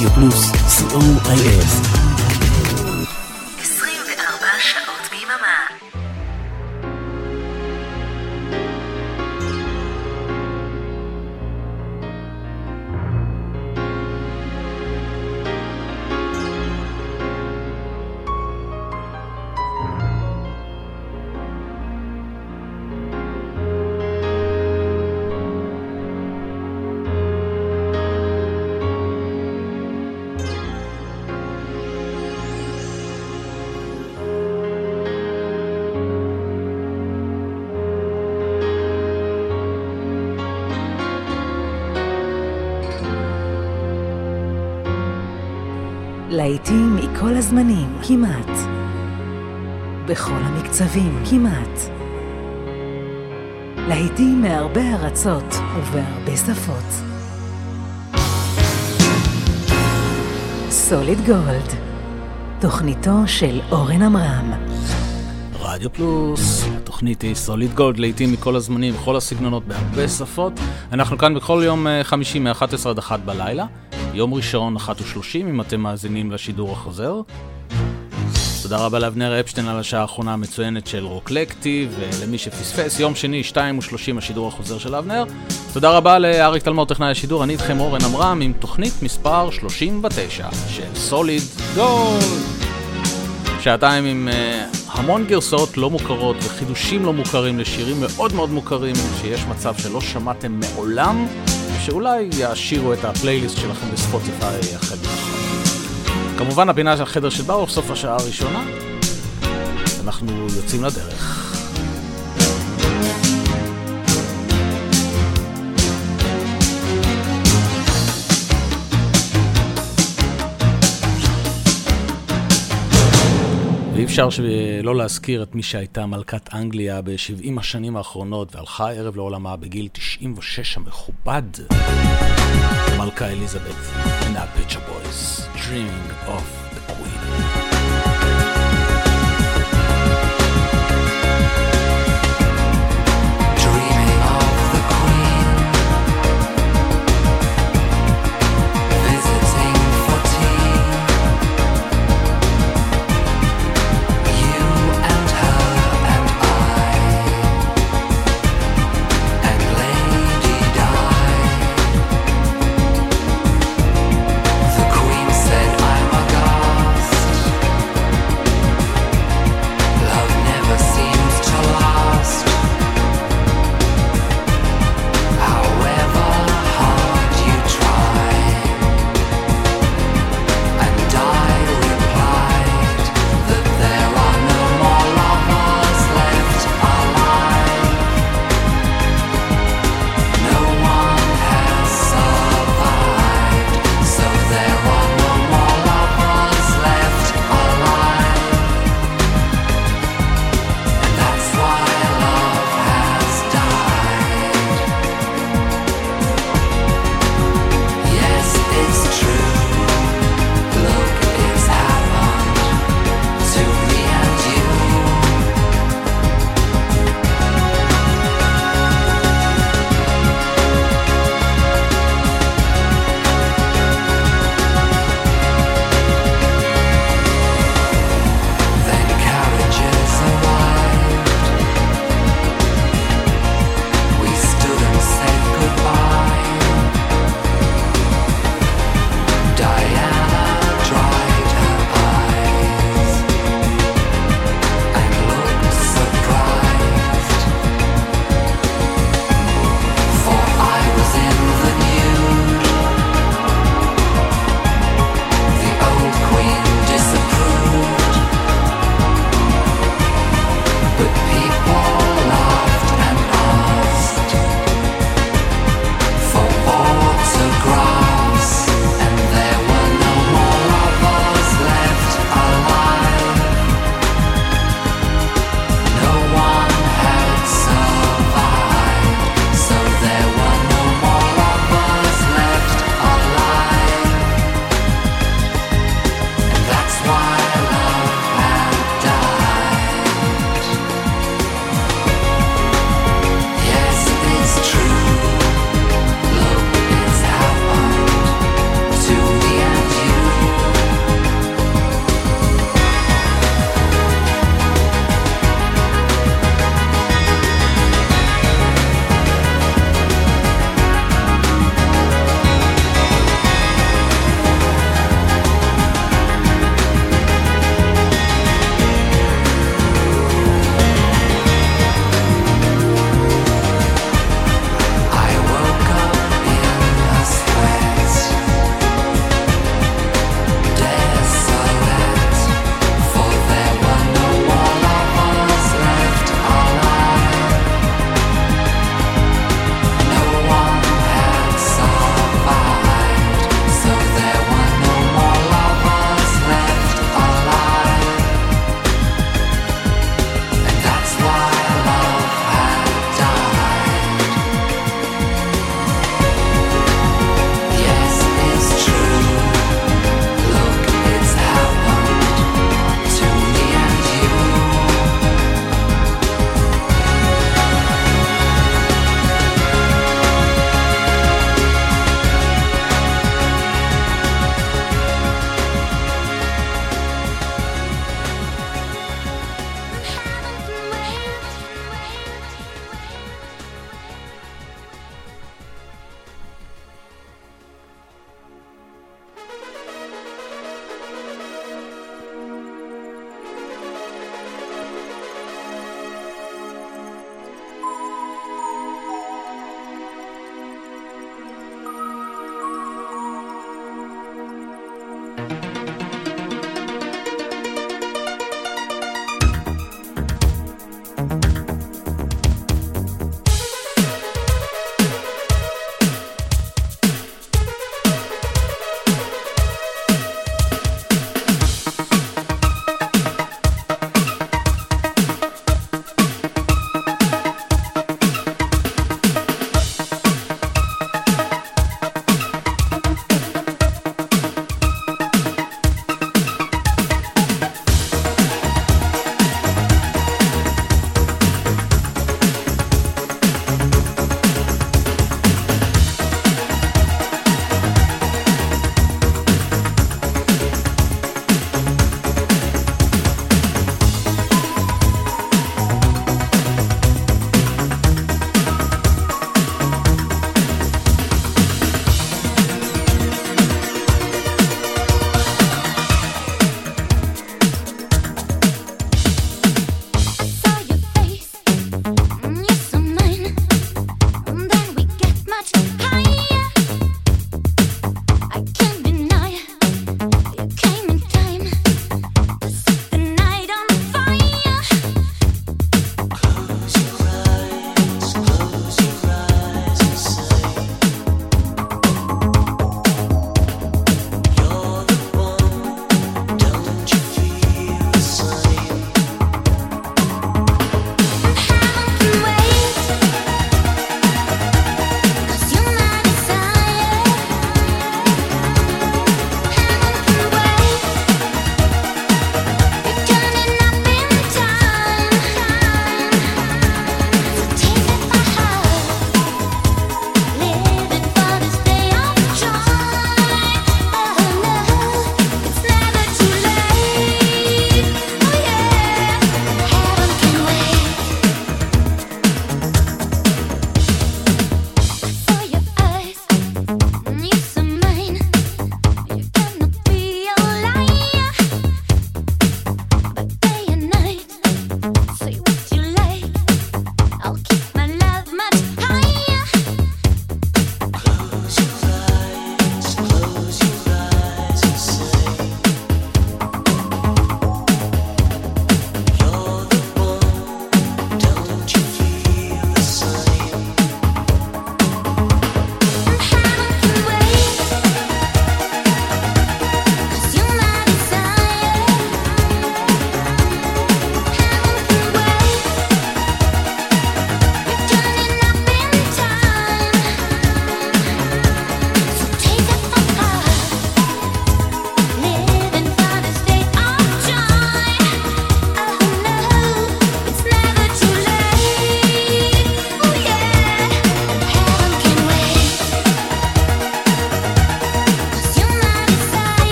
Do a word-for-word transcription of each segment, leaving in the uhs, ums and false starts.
רדיו פלוס, סי או איי אס. עשרים וארבע שעות ביממה. להיטים מכל הזמנים, כמעט. בכל המקצבים, כמעט. להיטים מהרבה ארצות ובהרבה שפות. סוליד גולד, תוכניתו של אורן עמרם. רדיו פלוס, תוכנית היא סוליד גולד, להיטים מכל הזמנים, בכל הסגנונות, בהרבה שפות. אנחנו כאן בכל יום חמישי מ-אחת עשרה עד אחת בלילה. יום ראשון, אחת ושלושים, אם אתם מאזינים לשידור החוזר. תודה רבה לאבנר אפשטיין על השעה האחרונה המצוינת של רוקלקטי, ולמי שפספס, יום שני, שתיים ושלושים, השידור החוזר של אבנר. תודה רבה לאריק תלמור, טכנאי השידור, אני איתכם אורן עמרם, עם תוכנית מספר שלושים ותשע של סוליד גולד. שעתיים עם uh, המון גרסאות לא מוכרות וחידושים לא מוכרים לשירים מאוד מאוד מוכרים, שיש מצב שלא שמעתם מעולם, שאולי יעשירו את הפלייליסט שלכם בספוטיפיי החל מחר. כמובן הפינה של חדר של ברוך, סוף השעה הראשונה. אנחנו יוצאים לדרך. ואי אפשר שלא להזכיר את מי שהייתה מלכת אנגליה ב-שבעים השנים האחרונות והלכה ערב לעולמה בגיל תשעים ושש המכובד, מלכה אליזבת, and the Picture Boys, Dreaming of the Queen. God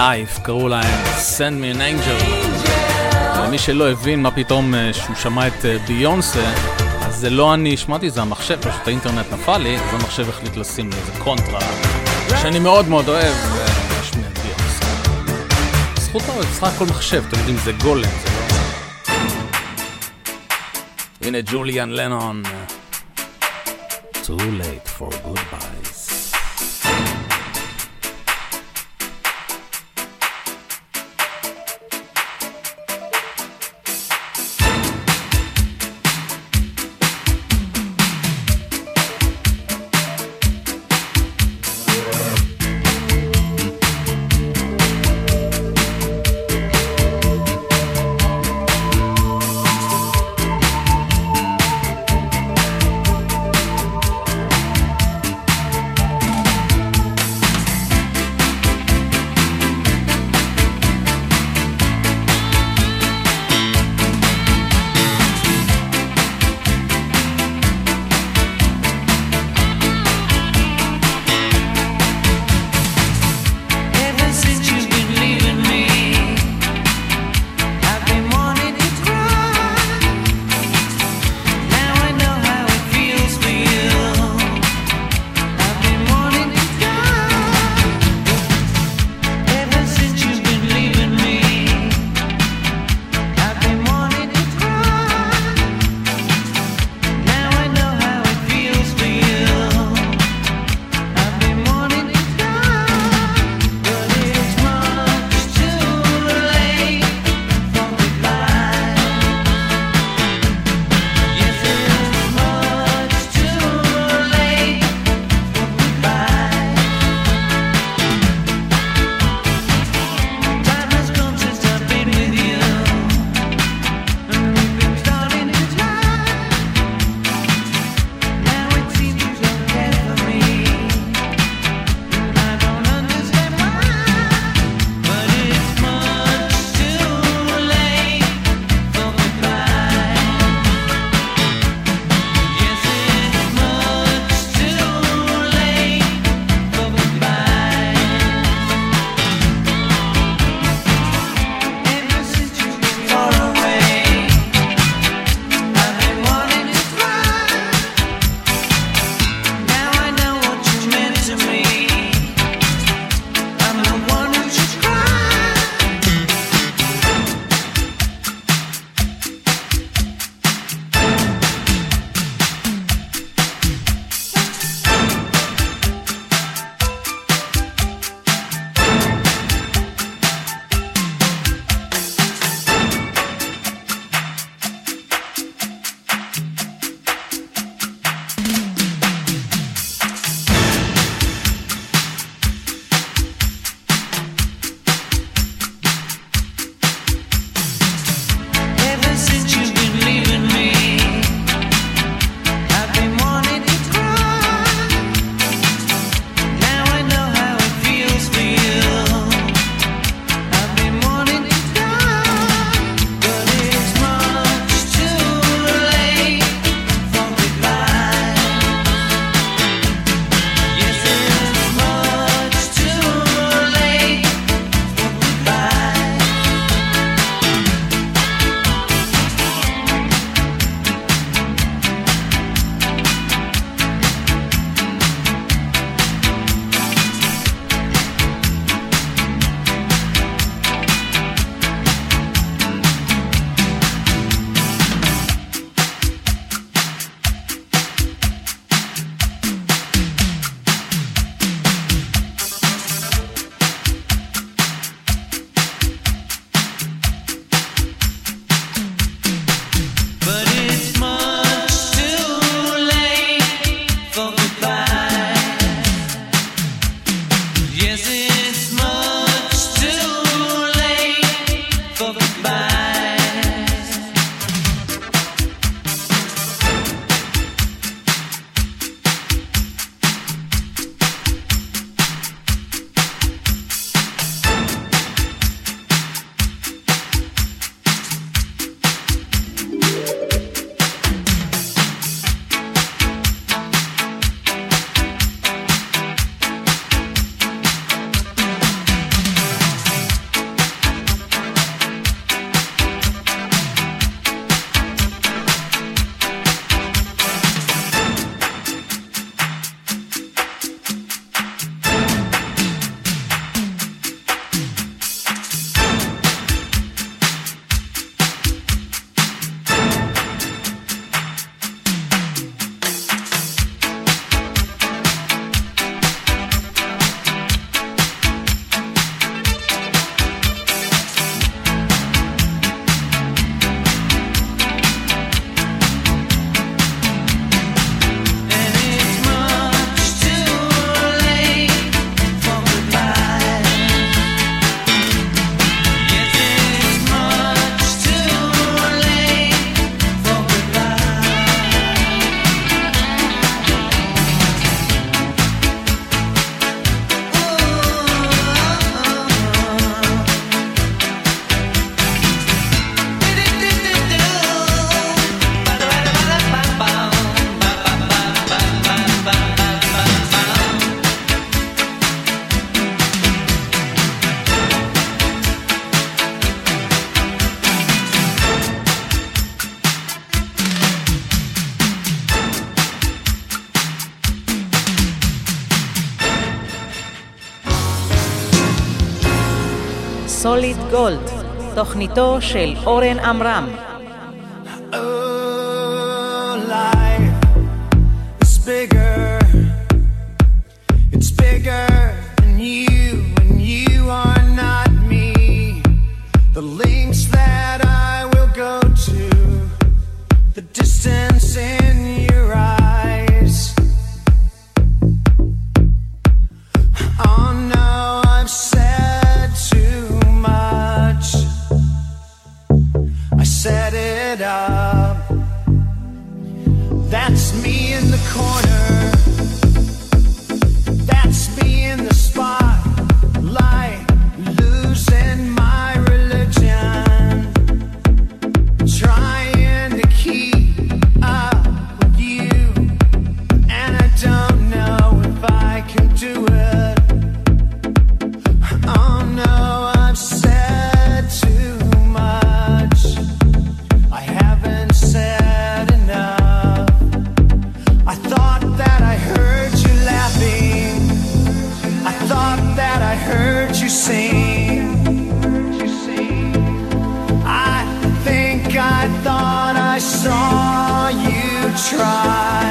Life, קראו להם Send Me an Angel. למי שלא הבין מה פתאום שהוא שמע את ביונסה, אז זה לא אני שמעתי, זה המחשב, פשוט האינטרנט נפל לי, אז המחשב החליט לשים לי איזה קונטרה, שאני מאוד מאוד אוהב, ושמיע את ביונסה. זכותו, זה בסך הכל מחשב, אתם יודעים, זה גולם, זה לא... הנה ג'וליאן לנון. Too late for goodbyes. סוליד גולד, תוכניתו של אורן עמרם. Oh, life is bigger. It's bigger than you, and you are not me. The links that I will go to, the distance in your eyes. Oh no, I've said too much. I set it up. That's me in the corner. That's me in the spotlight, losing my religion, trying to keep up with you, and I don't know if I can do it. Oh no, I've said too much. I haven't said enough. I thought that I heard you laughing. I thought that I heard you sing. I think I thought I saw you try.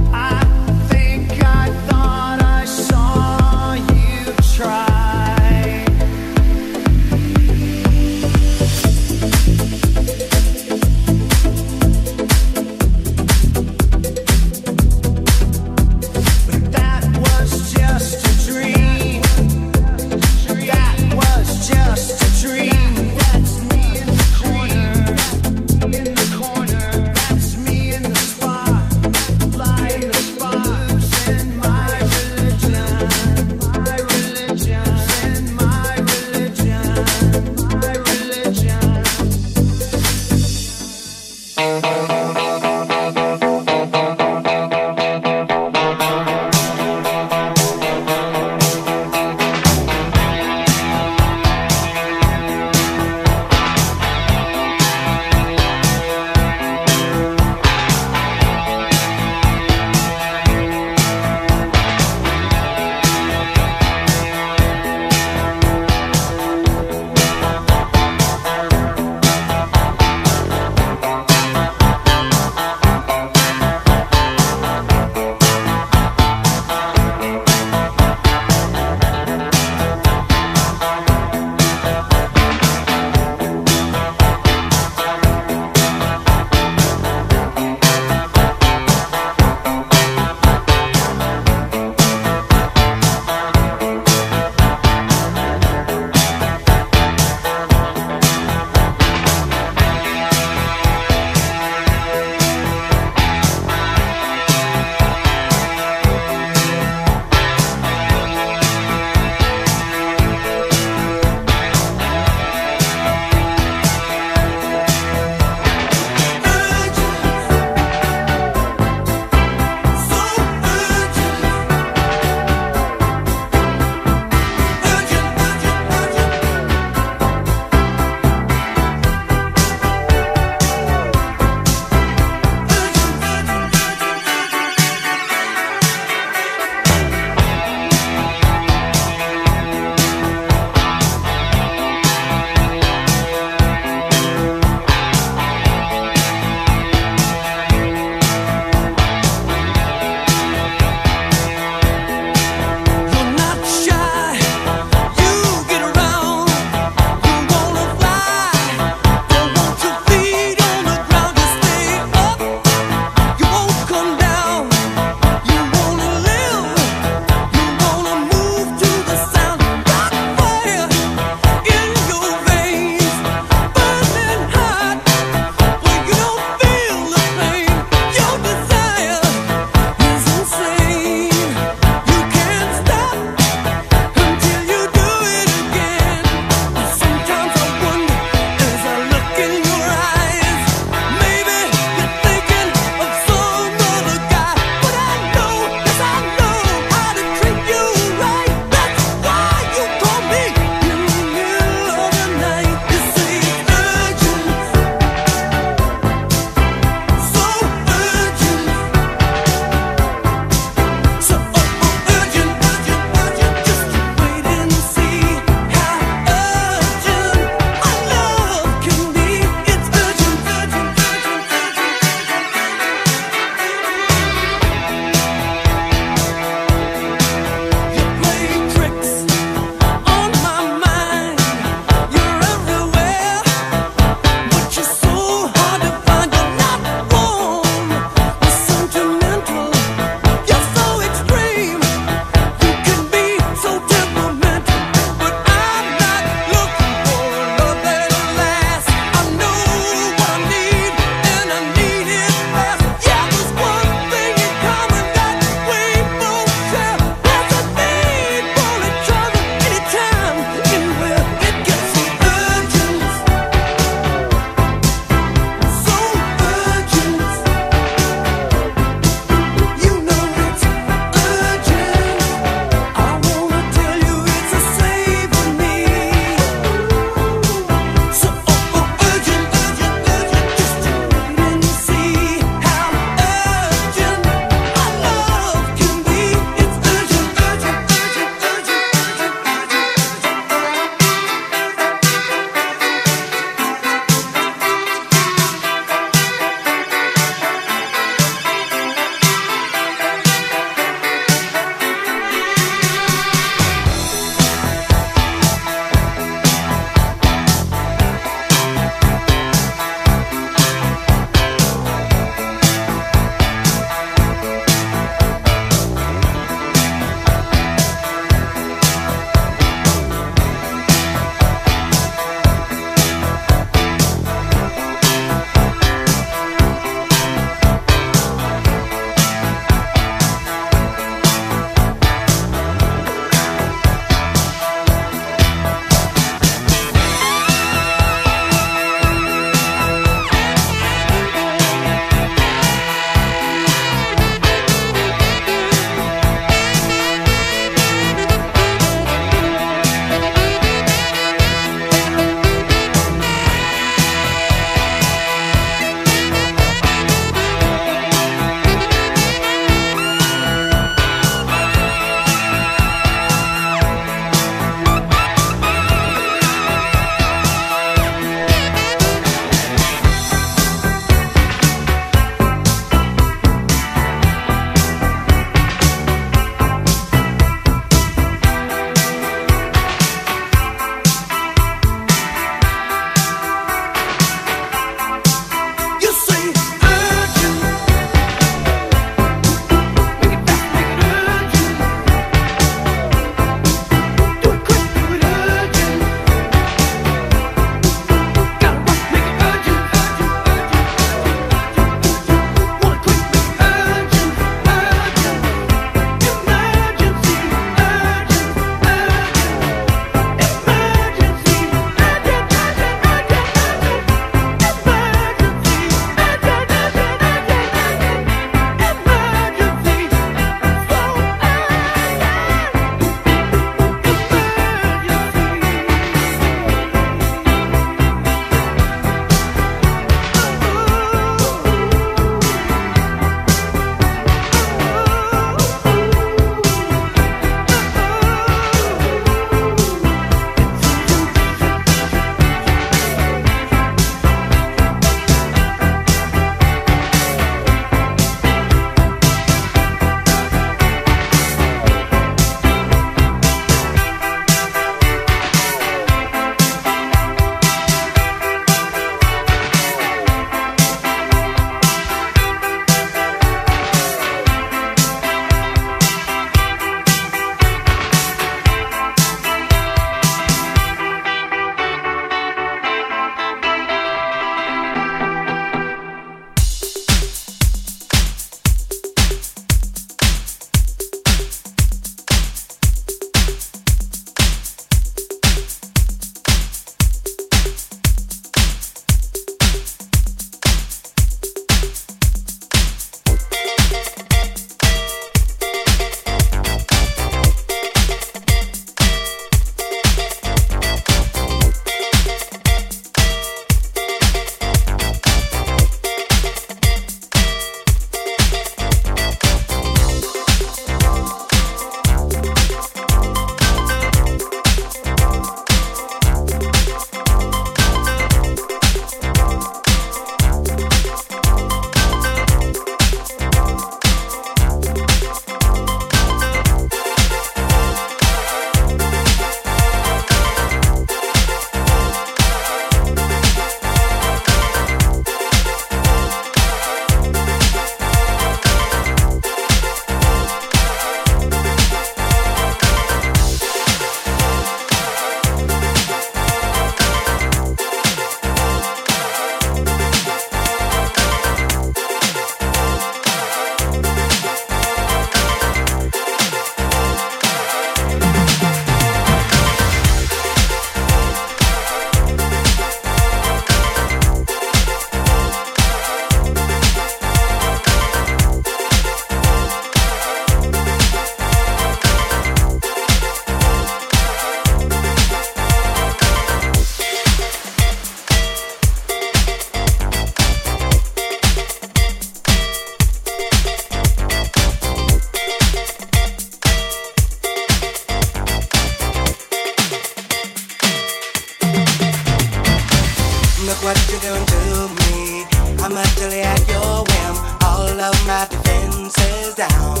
Look what you're doing to me. I'm utterly at your whim. All of my defenses down.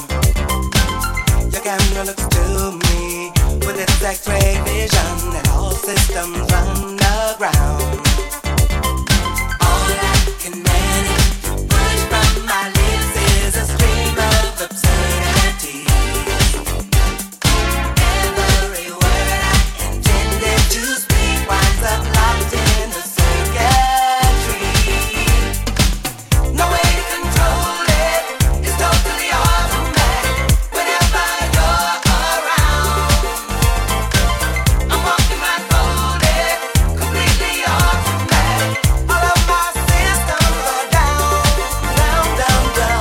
Your camera looks to me with its X-ray vision and all systems run aground. All I can manage to push from my lips is a stream of absurdity. Every word I intended to speak winds up locked in the circuitry. No way to control it. It's totally automatic. Whenever you're around, I'm walking blindfolded, completely automatic. All of my systems are down, down, down, down.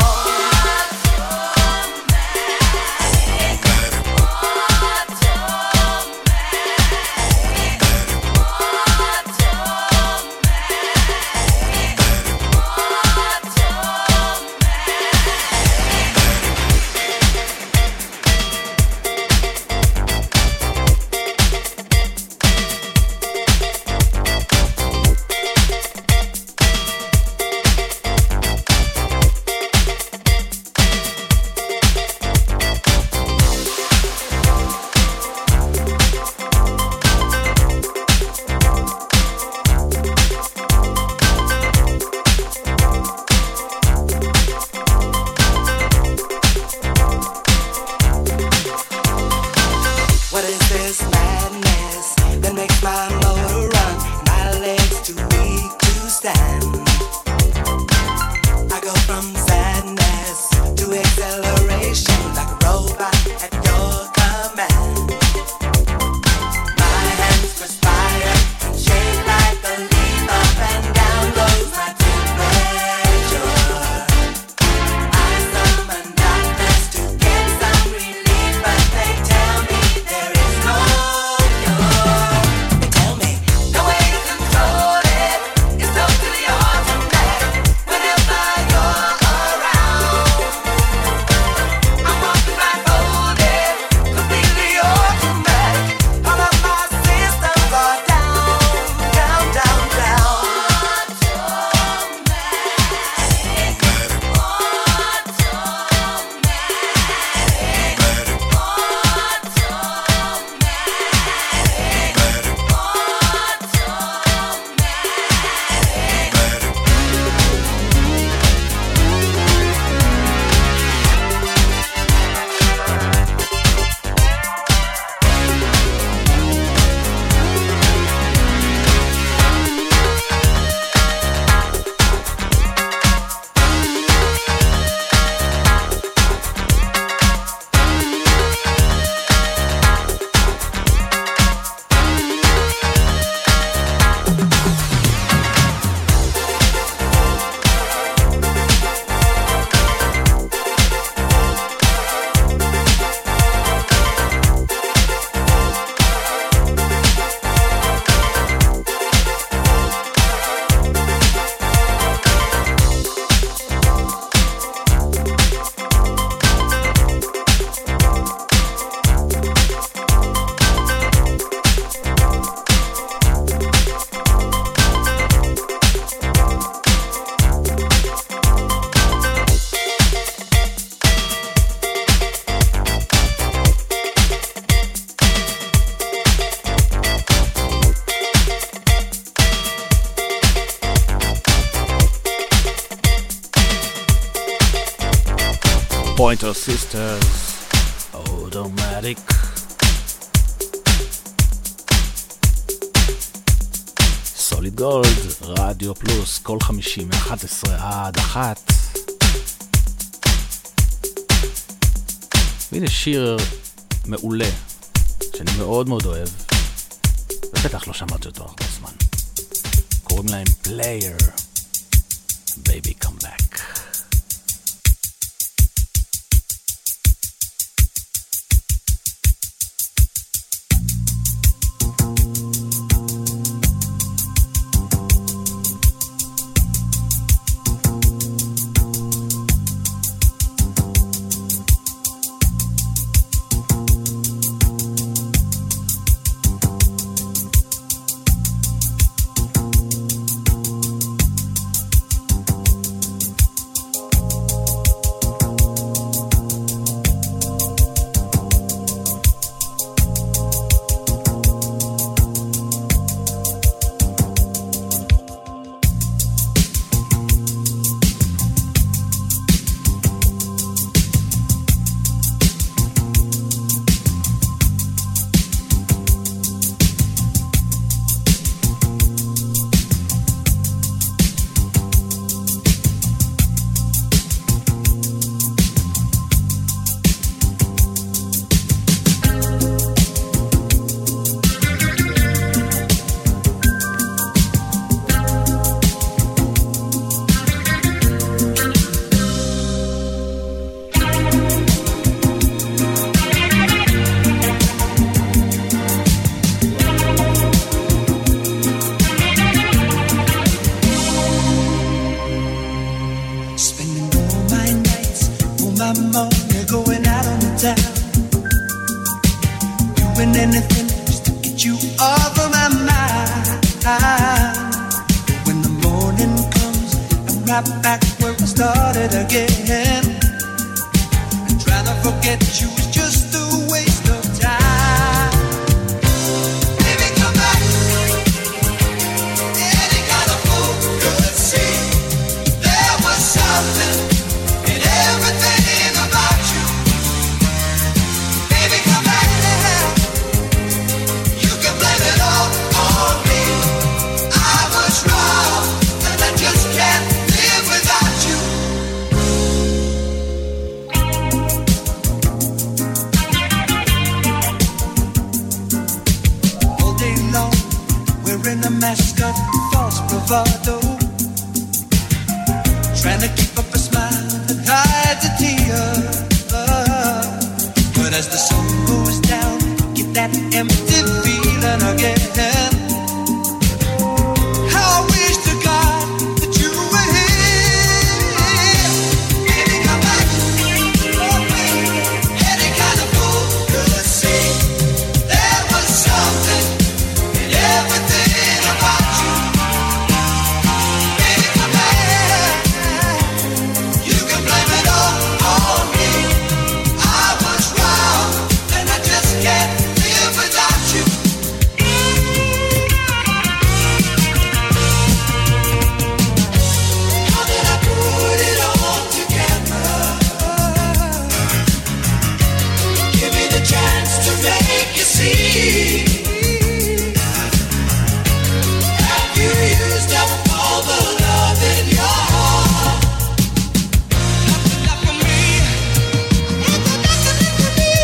What is this madness that makes my motor run? My legs too weak to stand. I go from sadness to acceleration like a robot at your command. My hands perspire and shake like a leaf. Up and down goes my temperature. I summon doctors to get some relief, but they tell me there is no cure. They tell me no way to control it. It's totally automatic. Whenever you're around, I'm walking blindfolded, completely automatic. All of my systems are down, down, down, down. Pointer Sisters, Automatic. סוליד גולד, רדיו פלוס, כל חמישי מ-אחת עשרה עד אחת. והנה שיר מעולה, שאני מאוד מאוד אוהב, ובטח לא שמעתי אותו הרבה זמן. קוראים להם Player, Baby Come Back. right back where I started again. And trying to forget you was just a waste of time. Baby, come back. Any kind of fool could see there was something in everything about you. Baby, come back. You can blame it all on me. I was wrong, and I just can't live without you. All day long, we're in a mask of false bravado, trying to keep up a smile that hides a tear. But as the sun goes down, get that empty feeling again. How I wish to God that you were here. Baby, come back. Oh, baby. Any kind of fool could see there was something in everything about you. Baby, come back. You can blame it all on me. I was wrong, and I just can't live without you. How did I put it all together? Give me the chance to make you see. Have you used up all the love in your heart? Nothing left for me. Nothing left for me.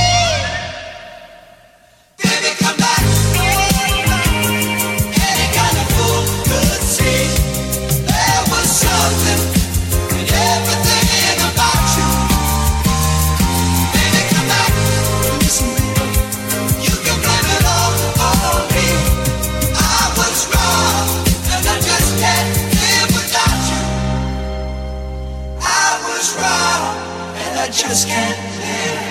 Baby, come back. Any kind of fool could see there was something in everything about you. Baby, come back. Listen, baby, you can blame it all on me. I was wrong, and I just can't live without you. I was wrong, and I just can't live.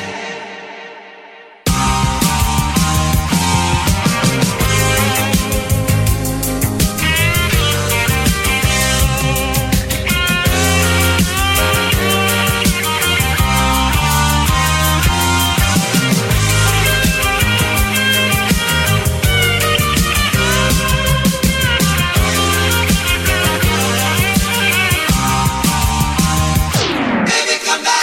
Baby, come back.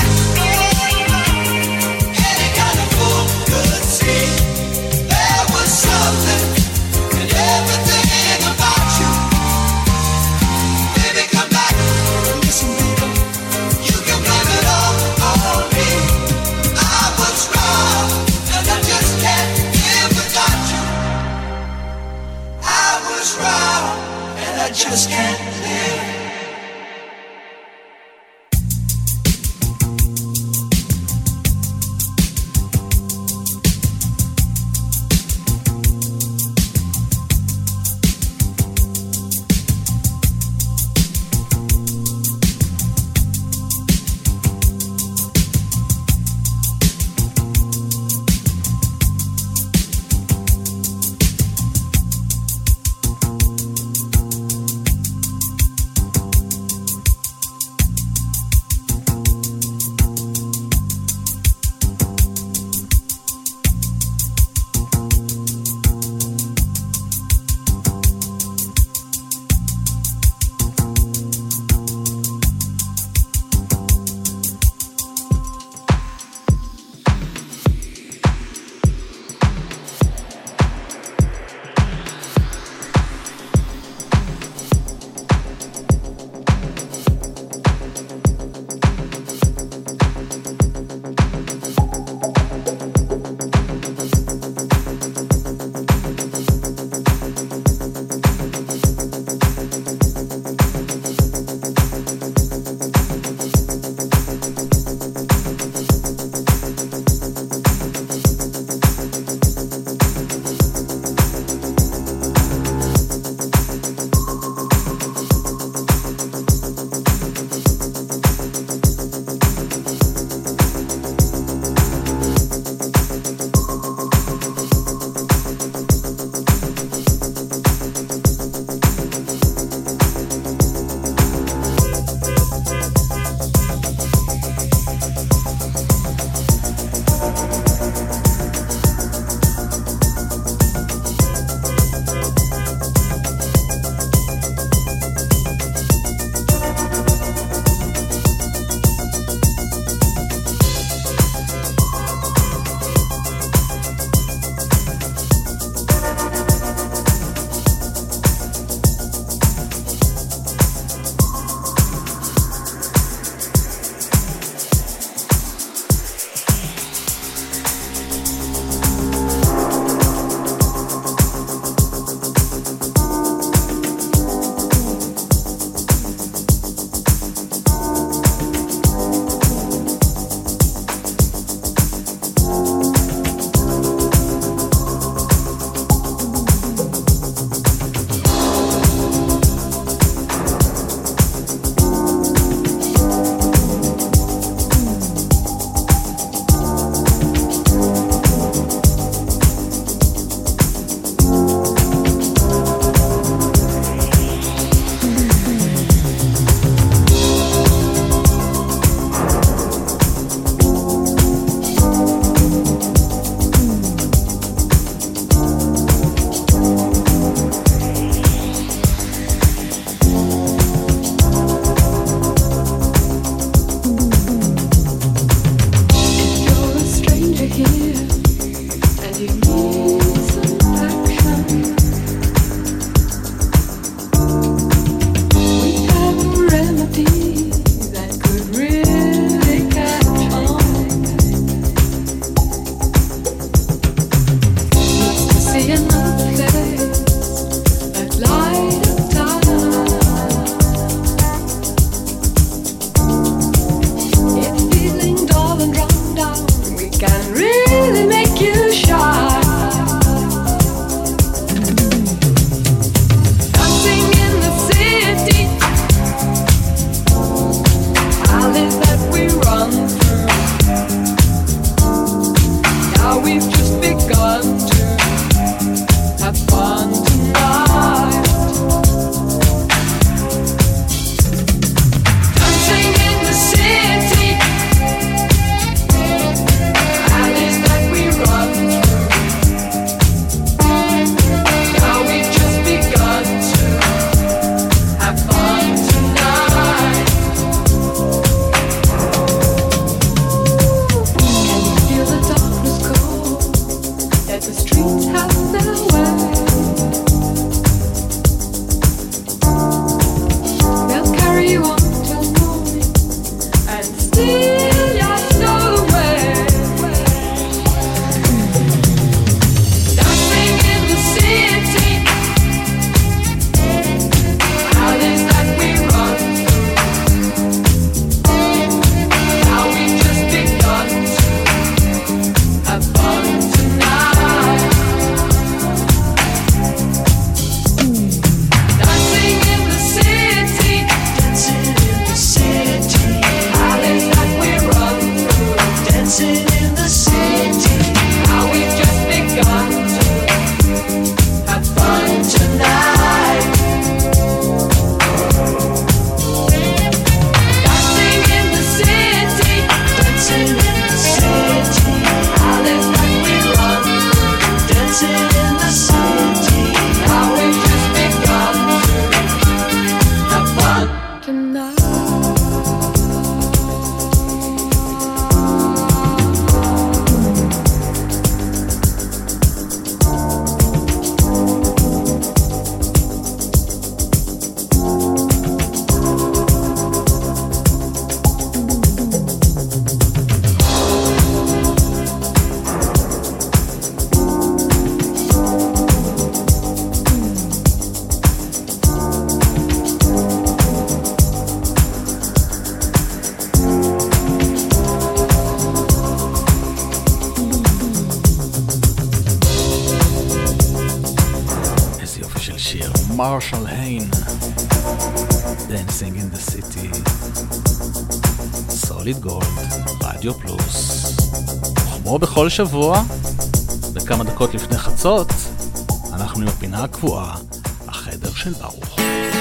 Any kind of fool could see there was something in everything about you. Baby, come back. Listen, baby, you can blame it all on me. I was wrong, and I just can't live without you. I was wrong, and I just can't live. מרשל היין, Dancing in the City, סוליד גולד, רדיו פלוס. כמו בכל שבוע, בכמה דקות לפני חצות, אנחנו עם הפינה הקבועה, החדר של ברוך.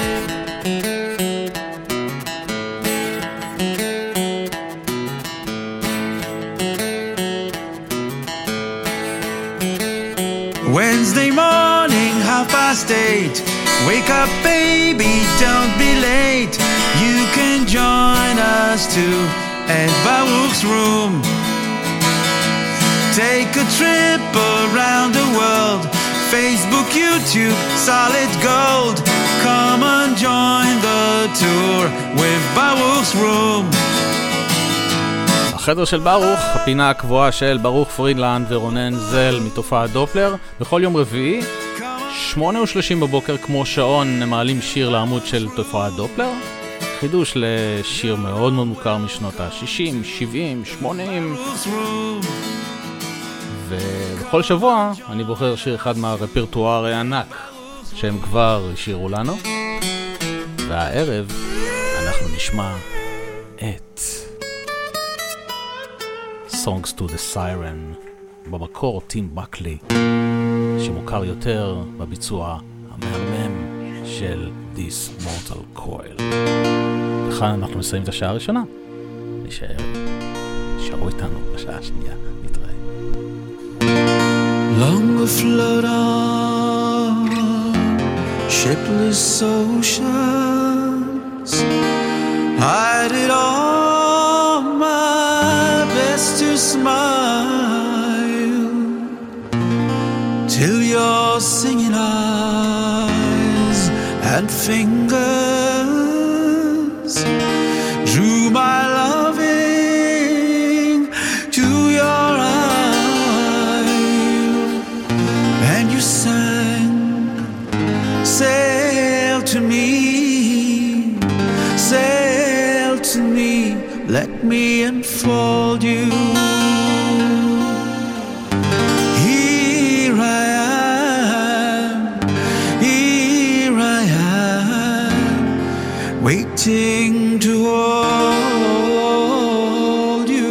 Wednesday morning, half past eight. Wake up, baby, don't be late. You can join us too at Baruch's room. Take a trip around the world. Facebook, YouTube, solid gold. Come and join the tour with Baruch's room. החדר של ברוך, הפינה הקבועה של ברוך פרידלנד ורונן זל מתופעת דופלר. בכל יום רביעי, שמונה ושלושים בבוקר, כמו שעון, הם מעלים שיר לעמוד של תופעת דופלר. חידוש לשיר מאוד מאוד מוכר משנות ה-שישים, שבעים, שמונים. ובכל שבוע אני בוחר שיר אחד מהרפרטואר הענק שהם כבר השאירו לנו. והערב אנחנו נשמע את Songs to the Siren, במקור טים בקלי, שמוכר יותר בביצוע המהמם של This Mortal Coil. וכאן אנחנו מסיים את השעה הראשונה. נשאר, נשארו איתנו בשעה השנייה. נתראה. Long afloat on shipless oceans, I did all my best to smile till your singing eyes and fingers drew my loving to your eyes, and you sang, sail to me, sail to me, let me enfold you. Here I am, here I am, waiting to hold you.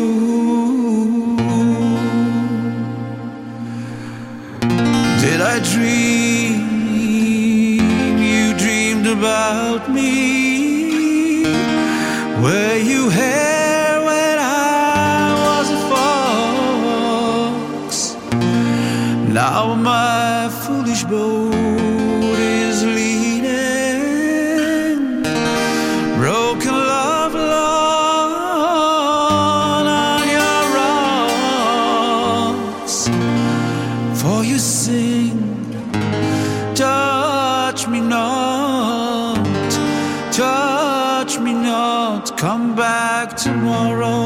Did I dream you dreamed about me? Were you here when I was a fox? Now my foolish boat is leaning, broken love alone on your rocks. For you sing, touch me not, touch me not, come back tomorrow.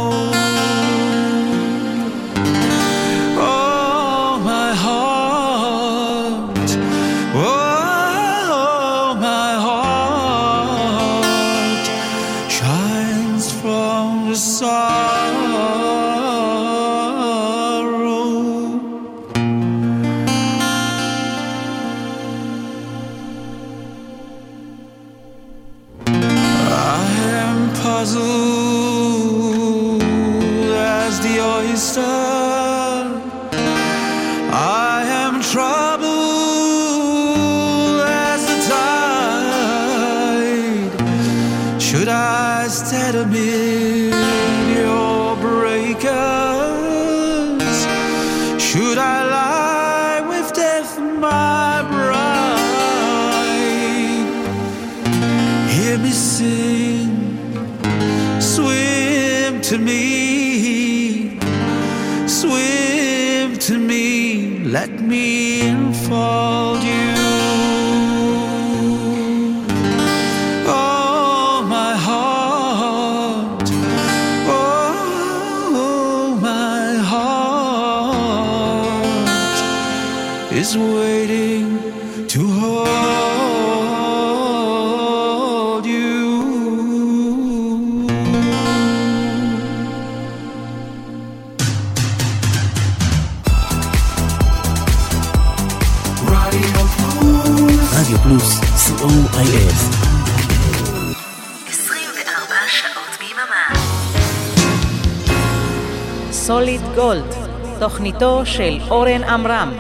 Oh, my heart, oh, my heart shines from the sorrow. I am puzzled as the oyster, I am troubled as the tide. Should I stand amid your breakers? Should I lie with death, my bride? Hear me sing, swim to me, swim to me, let me enfold you. Oh, my heart, oh, my heart is waiting to hold you. Radio אס. עשרים וארבע שעות ביממה. סוליד גולד, תוכניתו של אורן עמרם.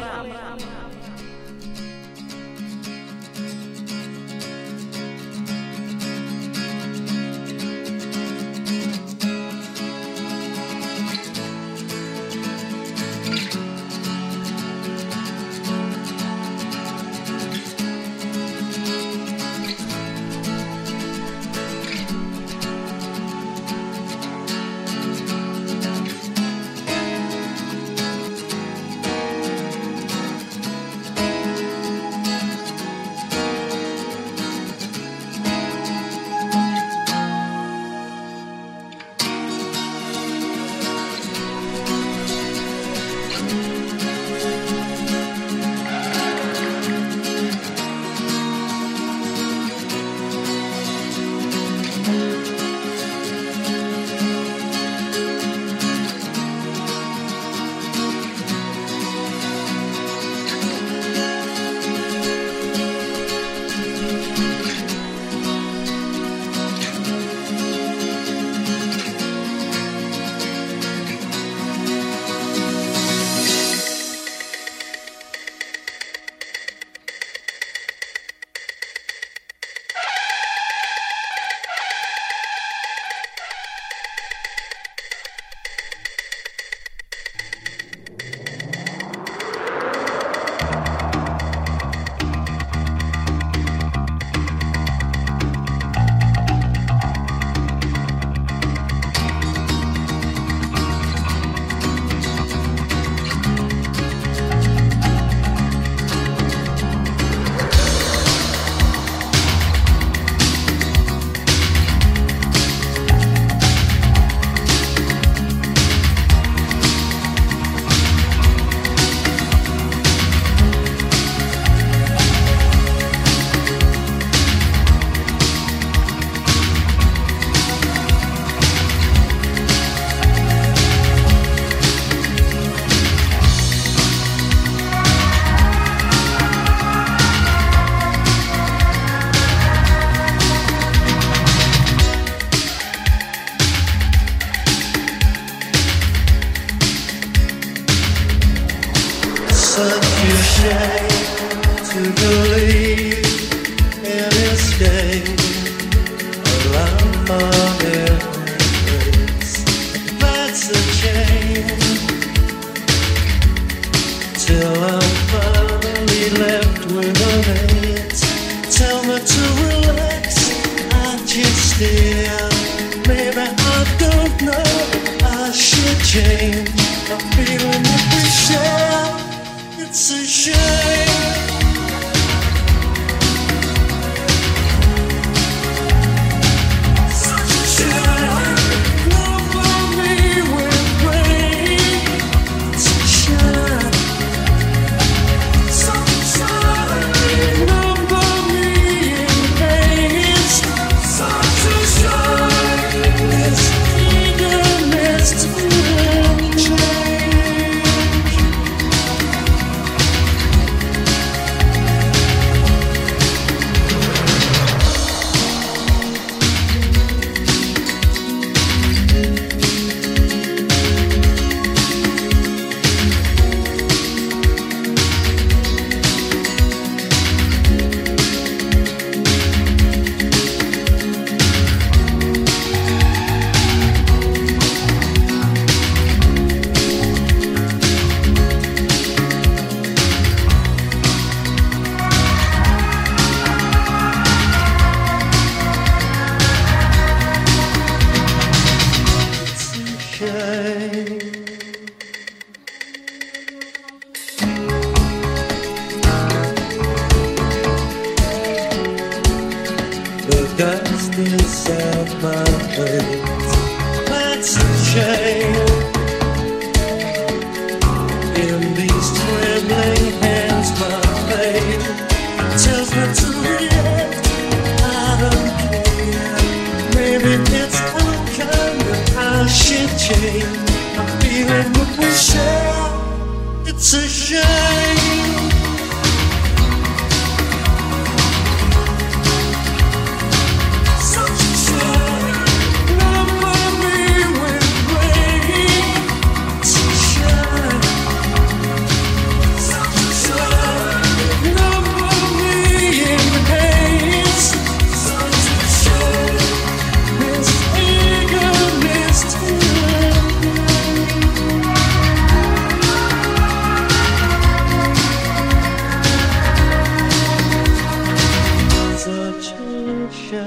It's a shame.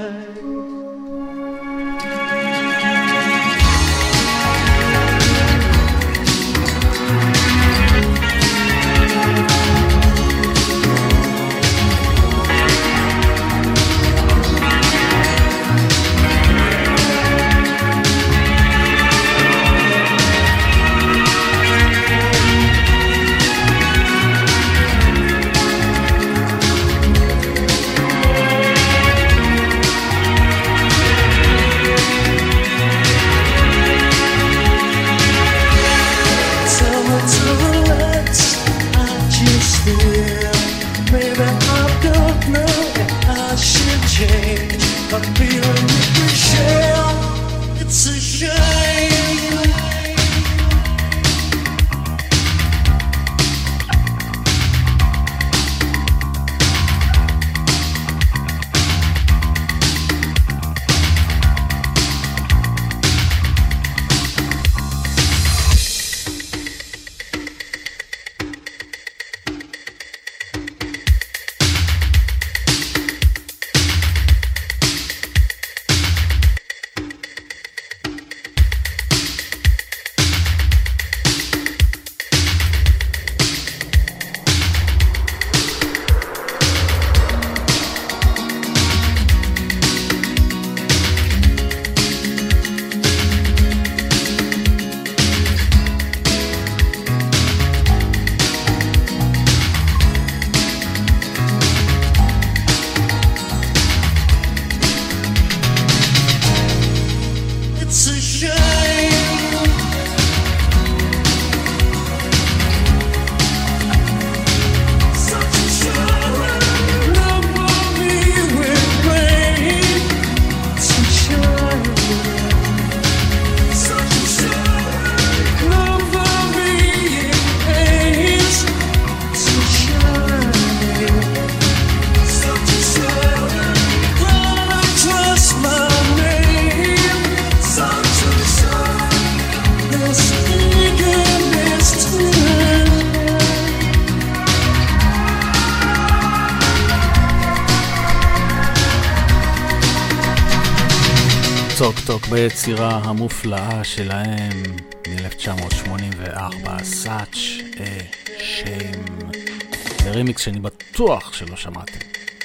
טוק טוק ביצירה המופלאה שלהם מ-אלף תשע מאות שמונים וארבע, Such a Shame, ברימיקס שאני בטוח שלא שמעתם,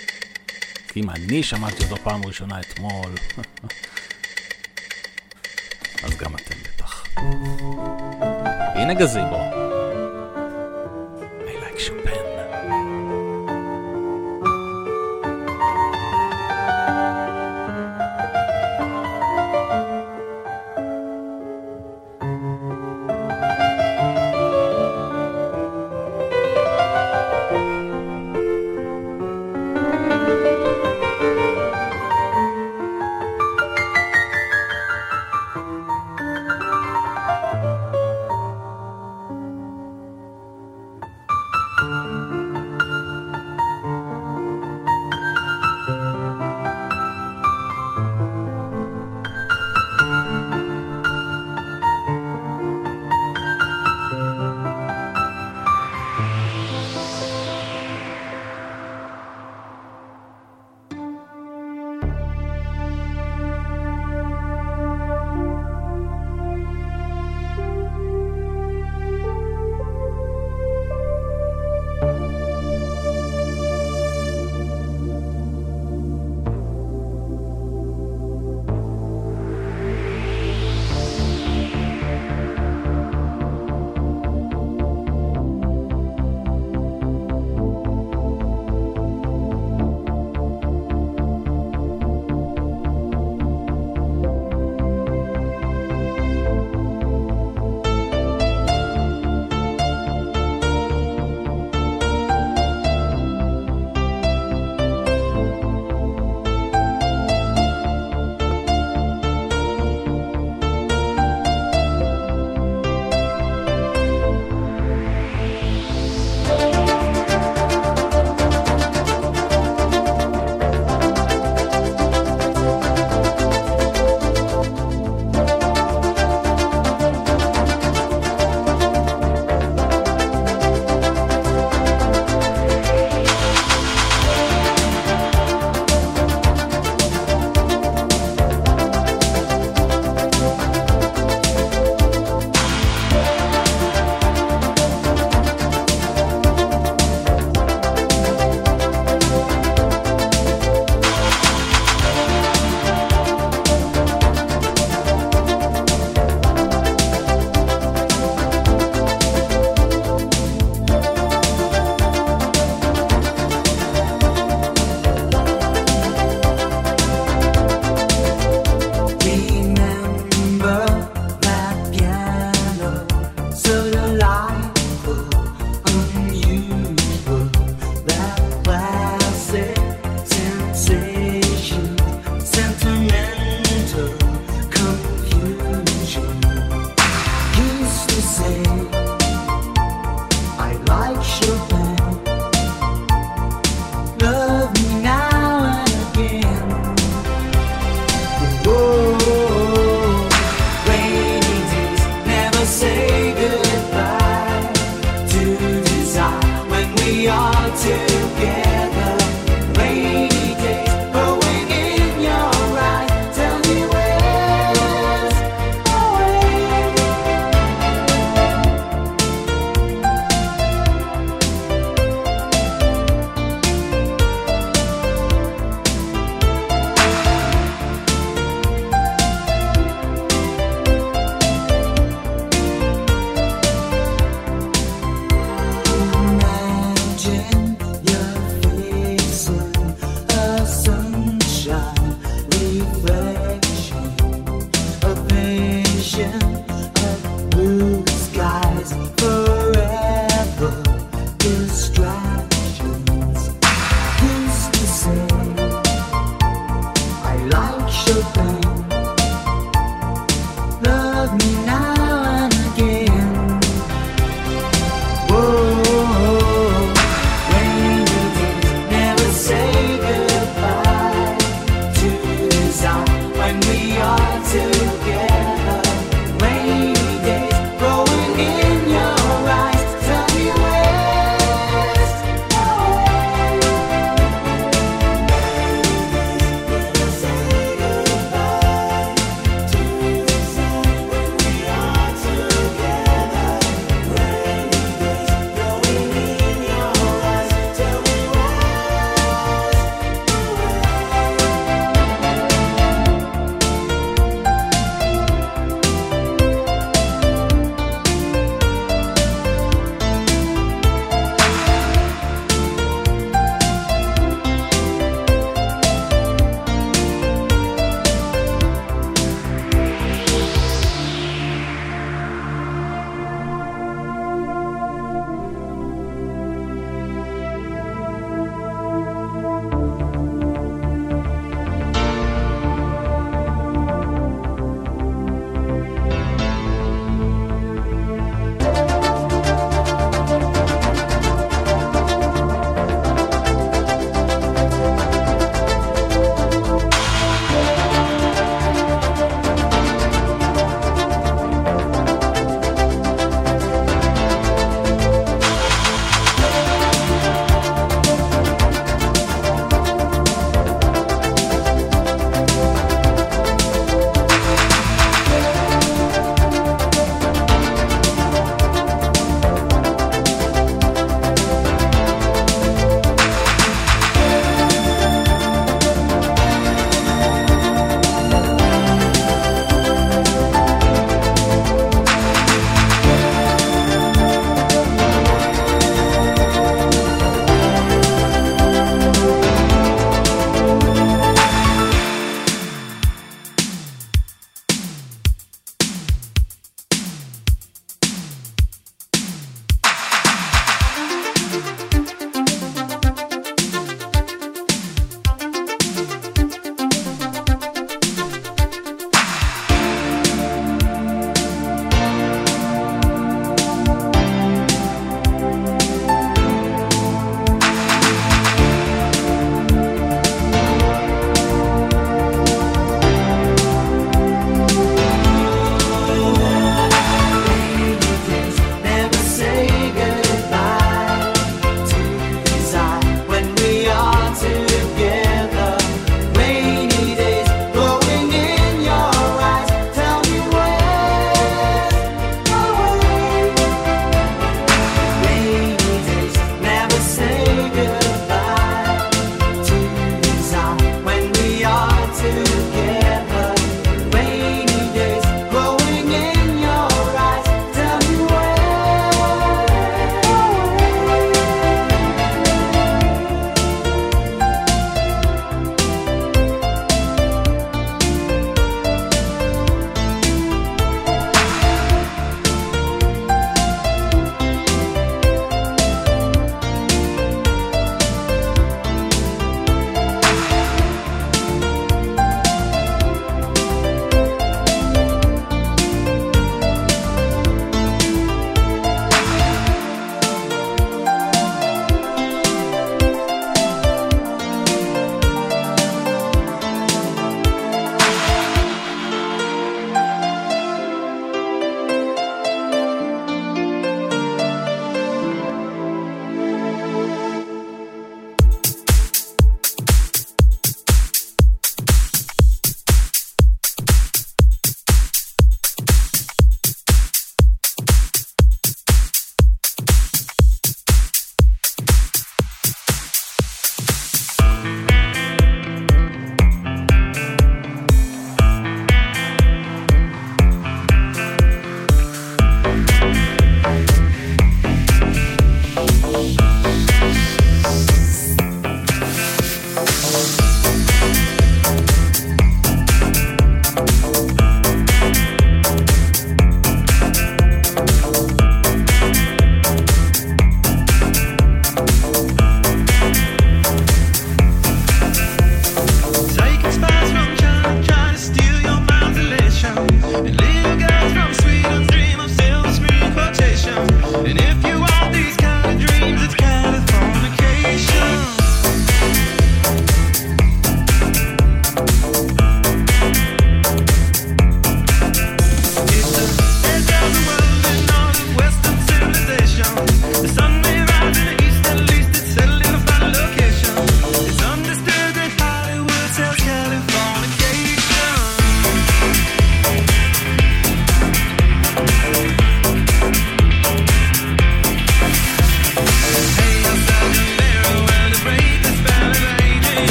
כי אם אני שמעתי אותו פעם ראשונה אתמול אז גם אתם בטח. הנה גזיבו, I like Chopin. like Chopin. Love me now and again. Whoa, rainy days never say goodbye to desire when we are together. Rainy days growing in your eyes. Tell me where's the way? Never say goodbye to desire when we are together. Rainy days growing in your eyes. Tell me where's the way?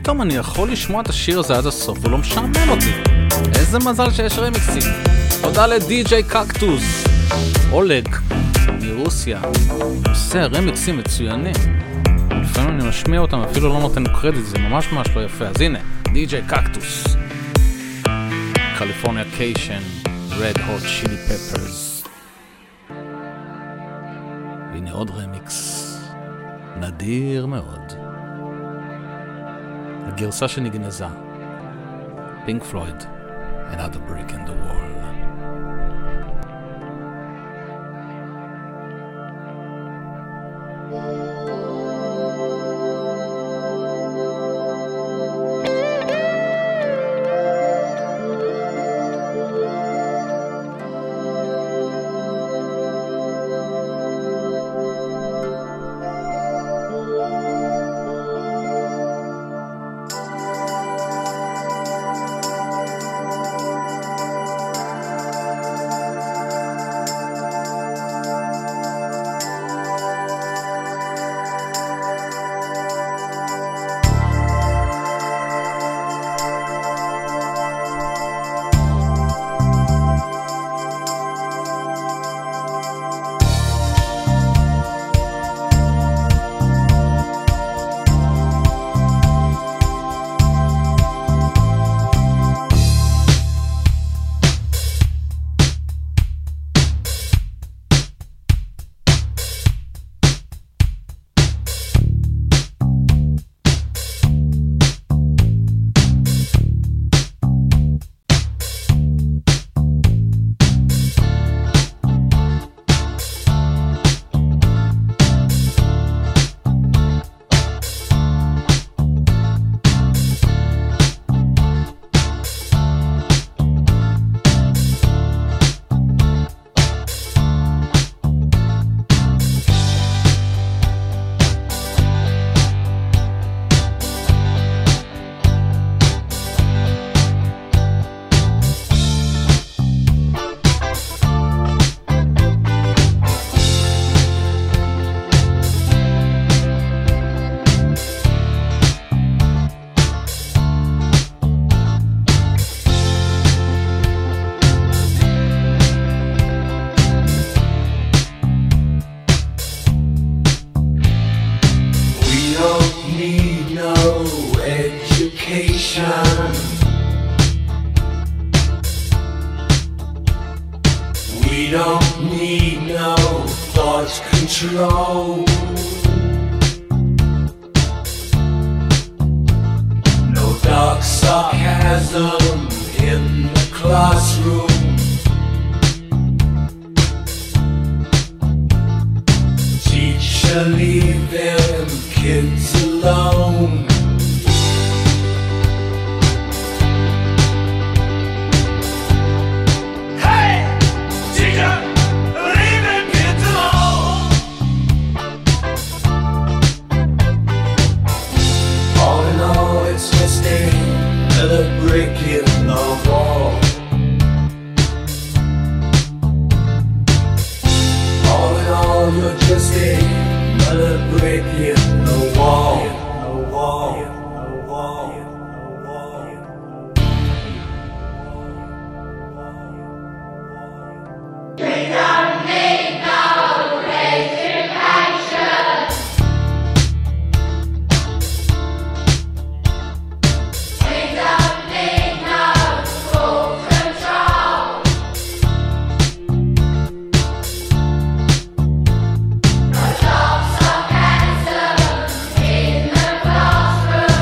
פתאום אני יכול לשמוע את השיר הזה עד הסוף, הוא לא משעמם אותי. איזה מזל שיש רמיקסים. תודה לדי-ג'יי קקטוס, אולג, מרוסיה. עושה רמיקסים מצוינים. לפעמים אני משמיע אותם, אפילו לא נותן קרדיט, זה ממש ממש לא יפה. אז הנה, די-ג'יי קקטוס. קליפורניה קיישן, Red Hot Chili Peppers. הנה עוד רמיקס. נדיר מאוד. הגרסה שנגנזה. פינק פלויד, Another Brick in the Wall. We don't need no thought control. No dark sarcasm in the classroom. Teacher, leave them kids alone. Another brick in the wall. All in all, you're just another brick in the wall. The wall. The wall. The wall. We don't need no education. Classroom.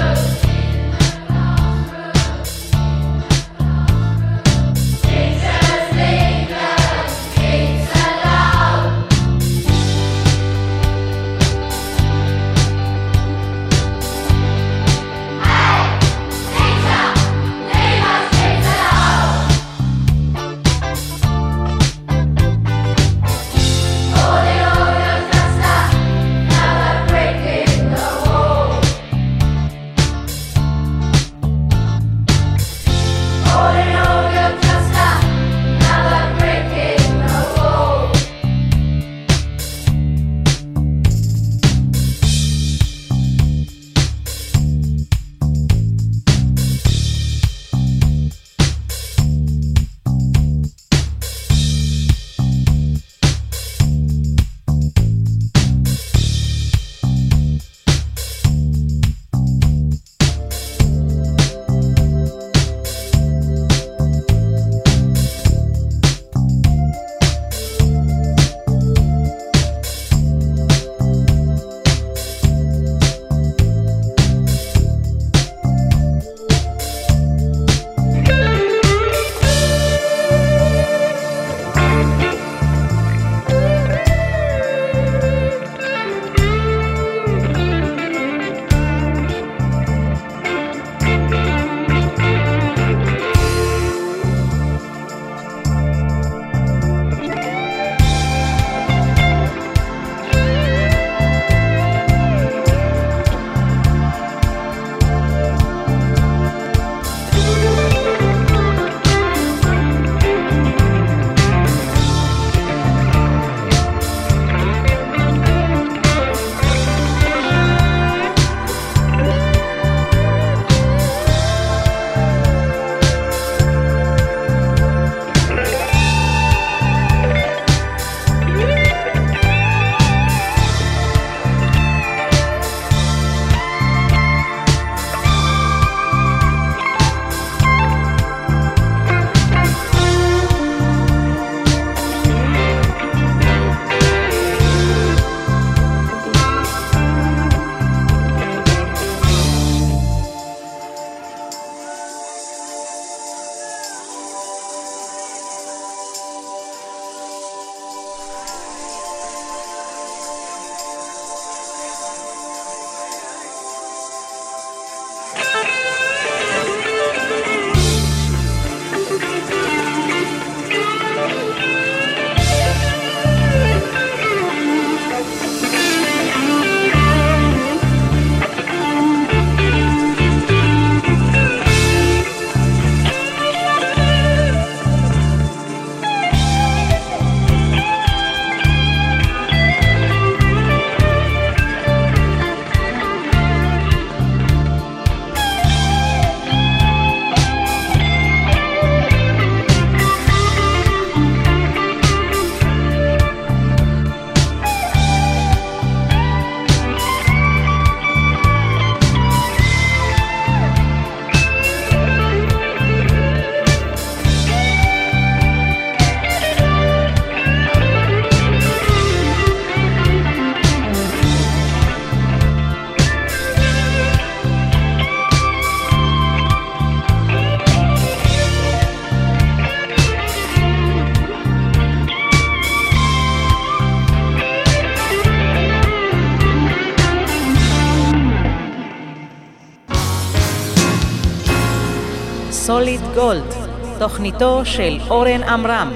סוליד גולד, תוכניתו של אורן עמרם.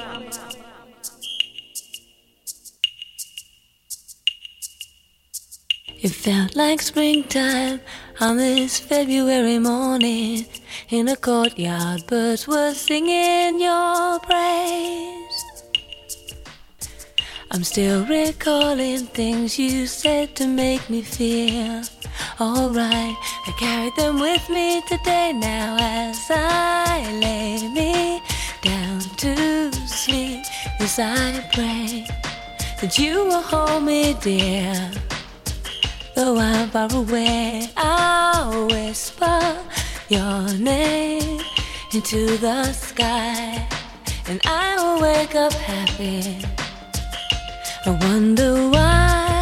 It felt like springtime on this February morning. In a courtyard, birds were singing your praise. I'm still recalling things you said to make me feel alright. I carried them with me today now as I lay me down to sleep. As I pray that you will hold me dear. Though I'm far away, I'll whisper your name into the sky, and I will wake up happy. I wonder why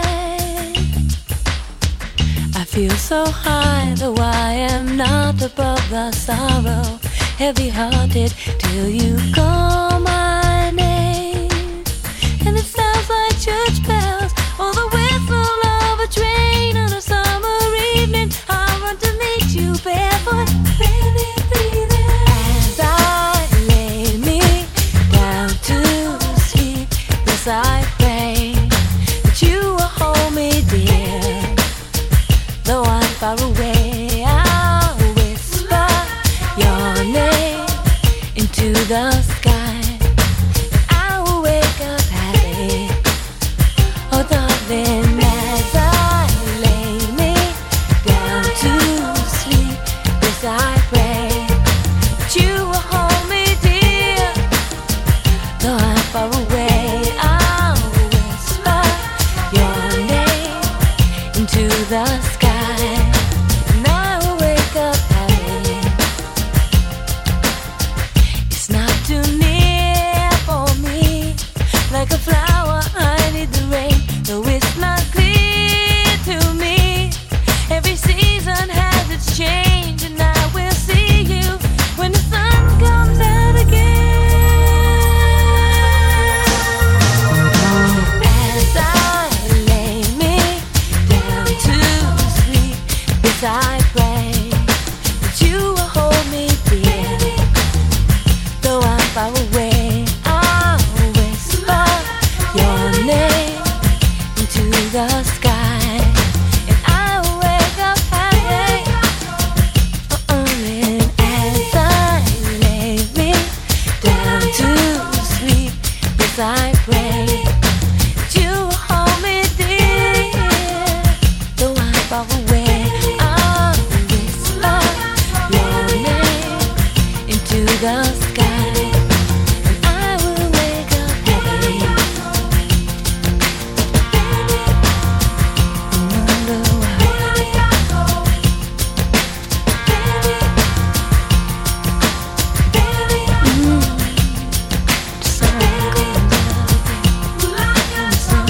I feel so high, though I am not above the sorrow. Heavy-hearted till you call my name, and it sounds like church bells or the whistle of a train on a summer evening. I run to meet you barefoot, baby, baby. As I lay me down to sleep, yes I pray that you will hold me dear. Though I'm far away, I'll whisper your name into the sky, and I will wake up happy. Oh darling, as I lay me down to sleep, yes I pray that you will hold me dear. Though I'm far away, I'll whisper your name into the sky, and I will wake up happy. It's not too near for me, like a flower I need the rain. Though it's not clear to me, every season has its change, and I will see you when the sun comes out again. As I lay me down to sleep, yes I pray that you will hold me dear. Though I'm far away, I'll whisper your name into the sky, and I will wake up happy. Uh-uh, and as I lay me down to sleep, yes I pray that you will hold me dear. Though I'm far away, I'll whisper your name into the sky, and I will wake up happy. Wonder why. Mm. The sun goes down,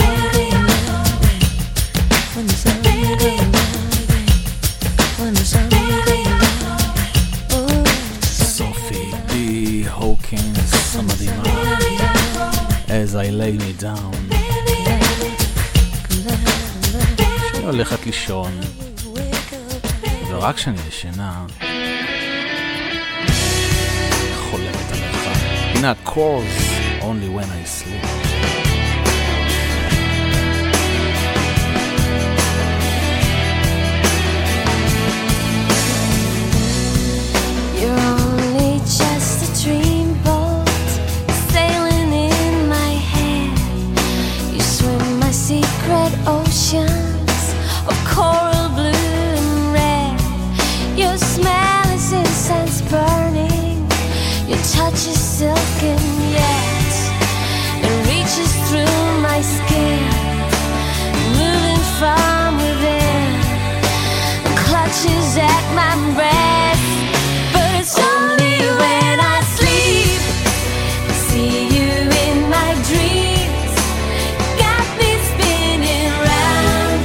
when the sun goes down, when the sun goes down, oh, סופי די הוקינס המדהימה, As I lay me down. כשאני הולכת לישון, ורק כשאני ישנה, חולמת עליך. הנה ה-Chorus, Only when I sleep. you're only just a dreamboat sailing in my head. You swim my secret oceans of coral blue and red. Your smell is incense burning. Your touch is silken yet it reaches through my skin, moving from within, clutches at my breast. But it's only when I sleep, see you in my dreams, got me spinning round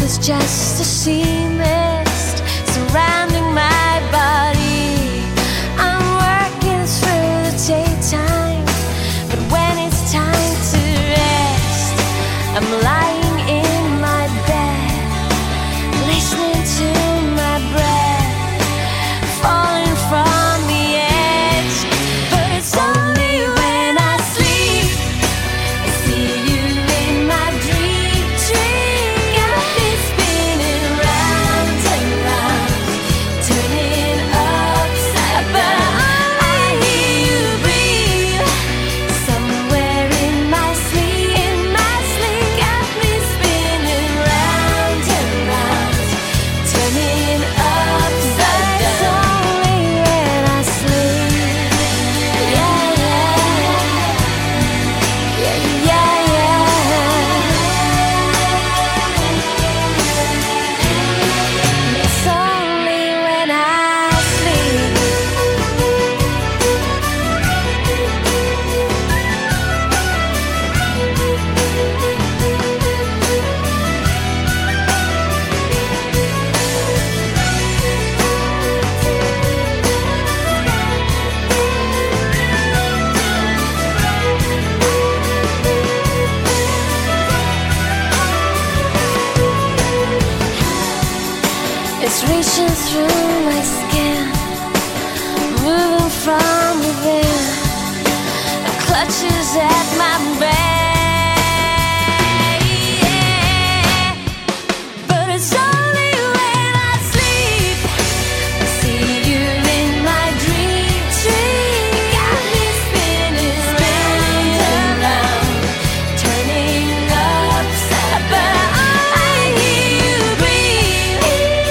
there's just a sea mist surrounding my body. I'm working through the daytime, but when it's time to rest, I'm lying in my bed, listening to my breath falling from the edge. But it's only when I sleep I see you in my dream. Dream got me spinning round and round, turning upside. But I hear you breathe somewhere in my sleep. In my sleep, got me spinning round and round, turning upside down. It's only when I sleep. Yeah, yeah, yeah, yeah, yeah. It's only when I sleep. It's reaching through my skin, moving from within. It clutches at my brain. Yeah. But it's only when I sleep I see you in my dream. Dream got me spinning round and round, turning upside. But I hear you breathe.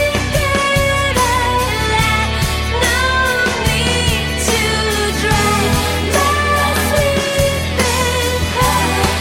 No need to drown. My sleeping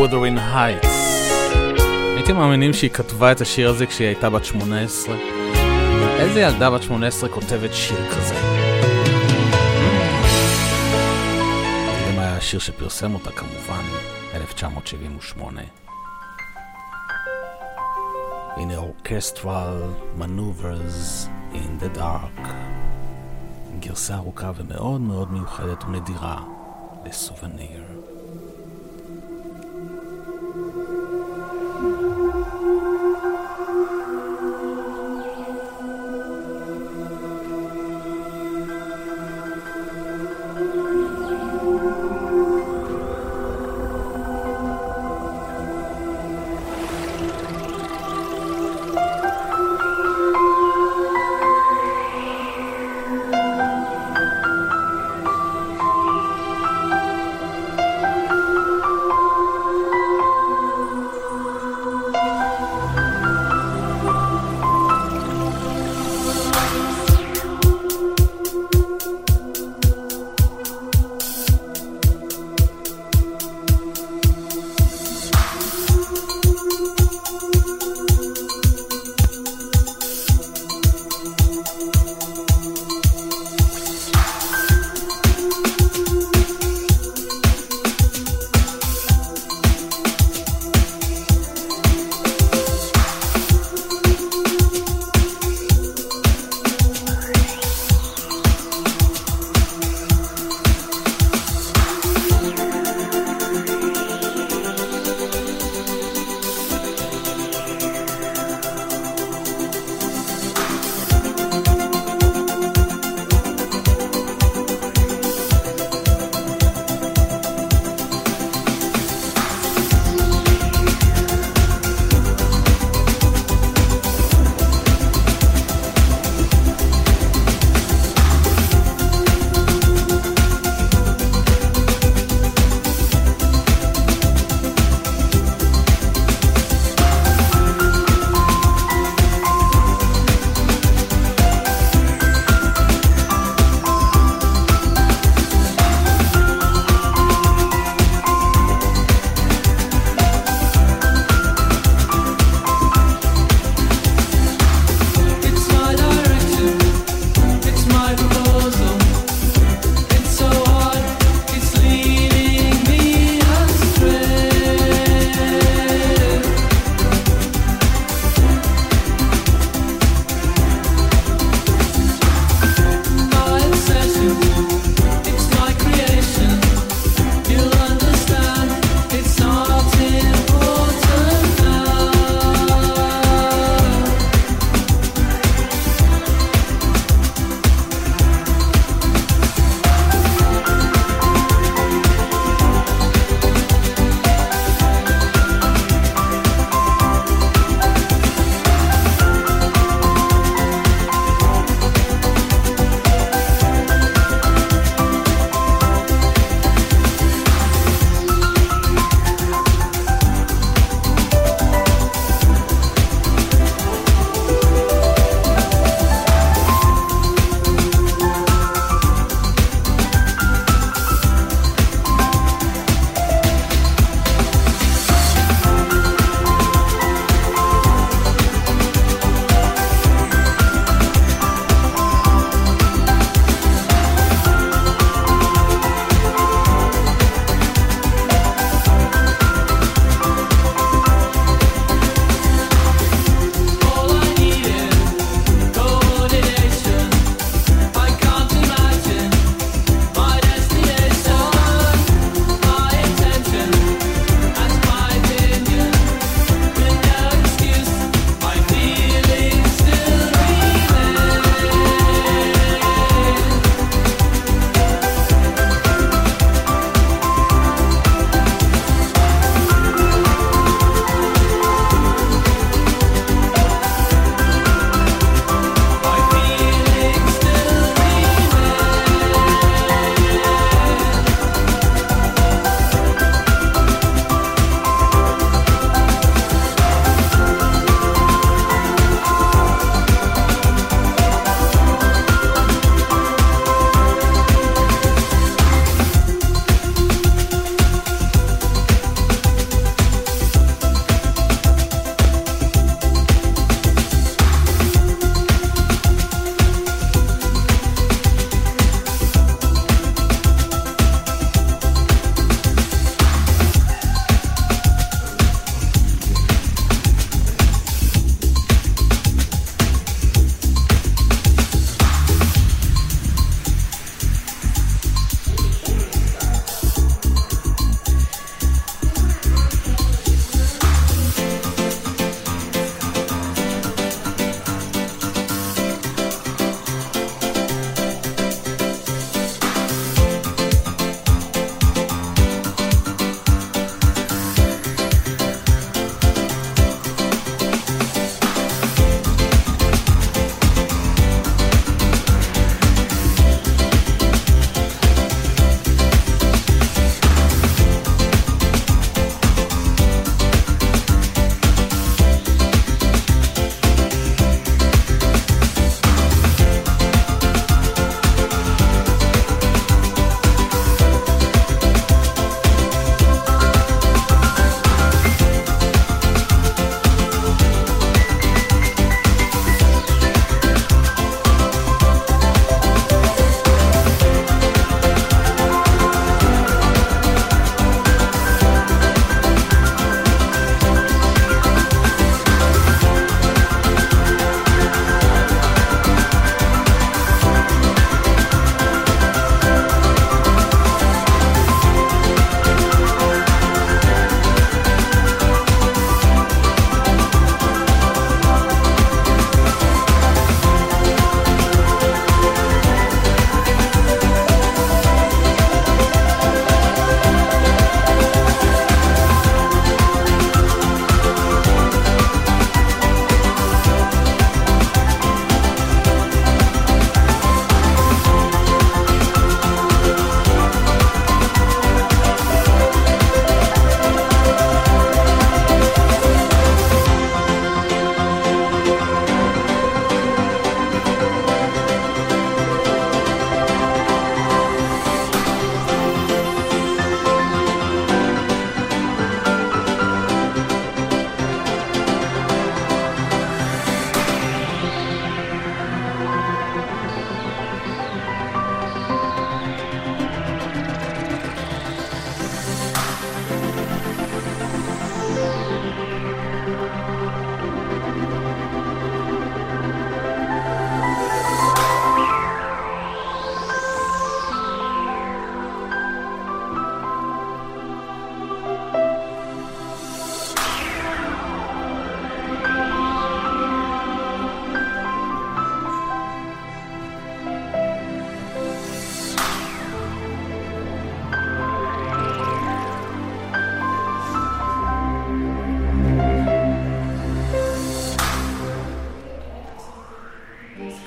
Wuthering Heights. הייתם מאמינים שהיא כתבה את השיר הזה כשהיא הייתה בת שמונה עשרה? איזה ילדה בת שמונה עשרה כותבת שיר כזה? זה מה היה השיר שפרסם אותה כמובן, אלף תשע מאות שבעים ושמונה. הנה Orchestral Maneuvers in the Dark. גרסה ארוכה ומאוד מאוד מיוחדת ונדירה לסובניר.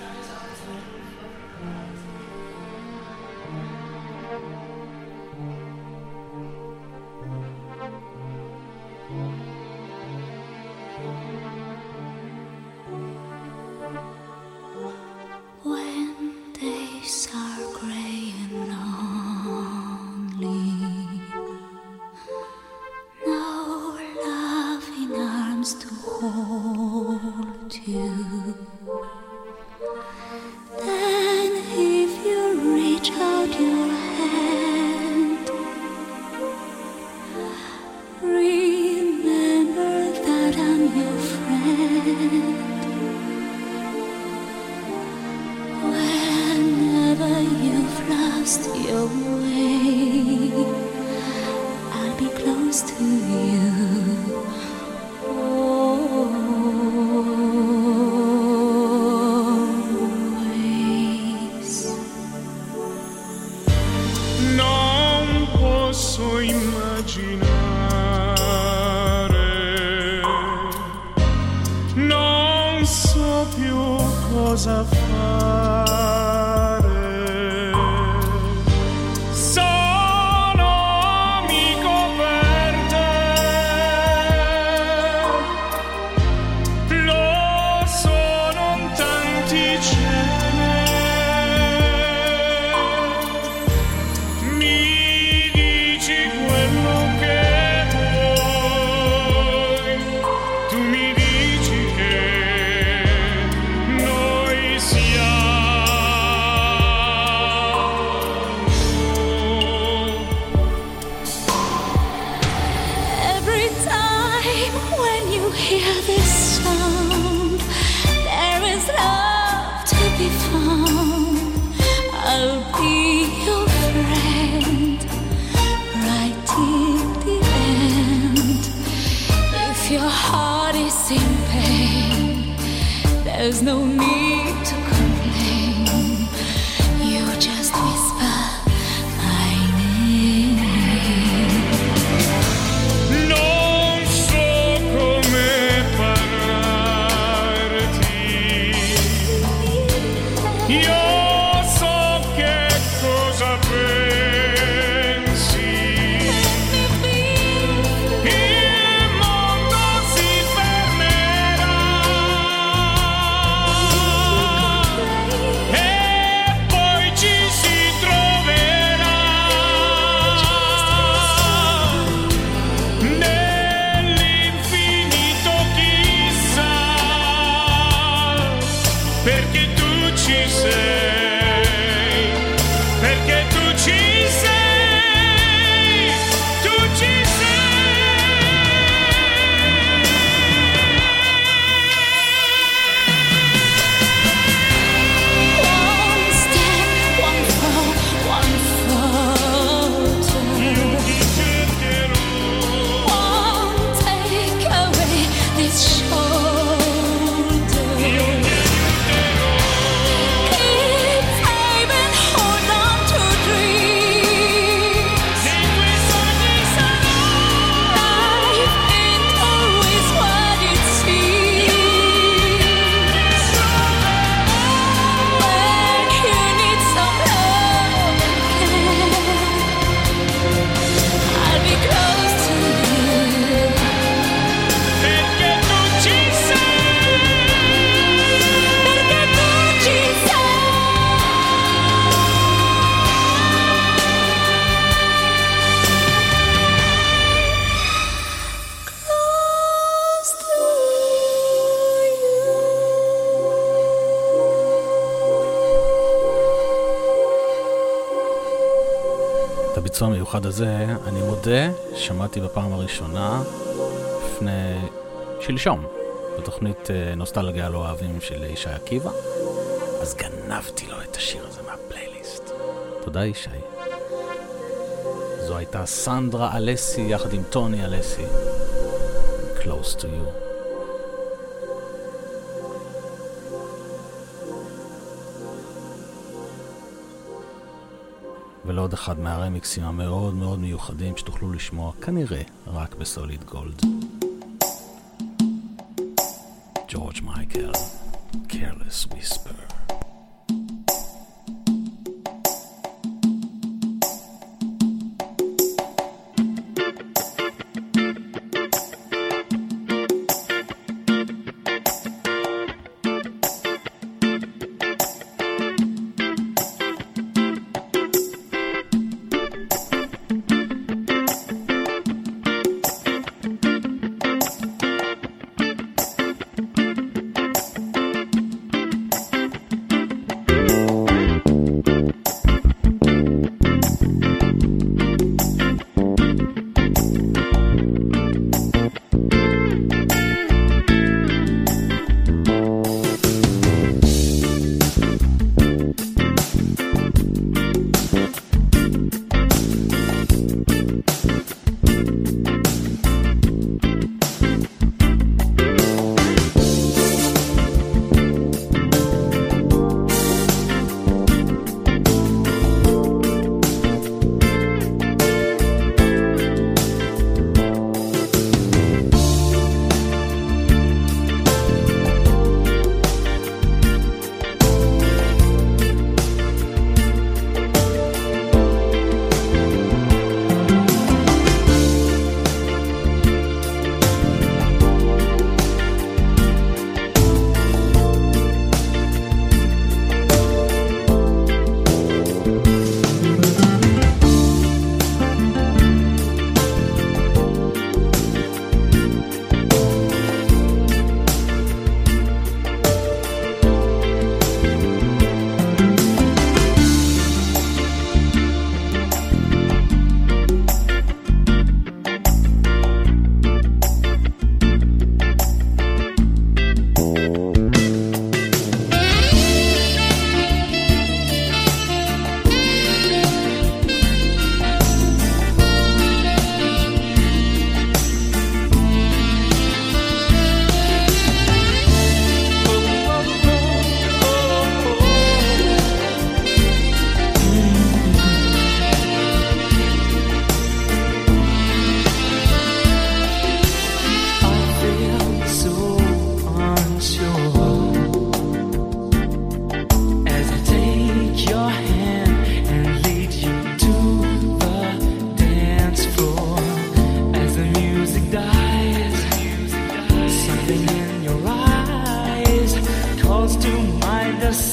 הביצוע המיוחד הזה, אני מודה, שמעתי בפעם הראשונה לפני שלשום, בתוכנית נוסטלגיה לא אוהבים של ישי עקיבא, אז גנבתי לו את השיר הזה מהפלייליסט. תודה ישי. זו הייתה סנדרה אלסי יחד עם טוני אלסי, Close to You. ולעוד אחד מהרמיקסים המאוד מאוד מיוחדים שתוכלו לשמוע כנראה רק בסוליד גולד. ג'ורג' מייקל, Careless Whisper.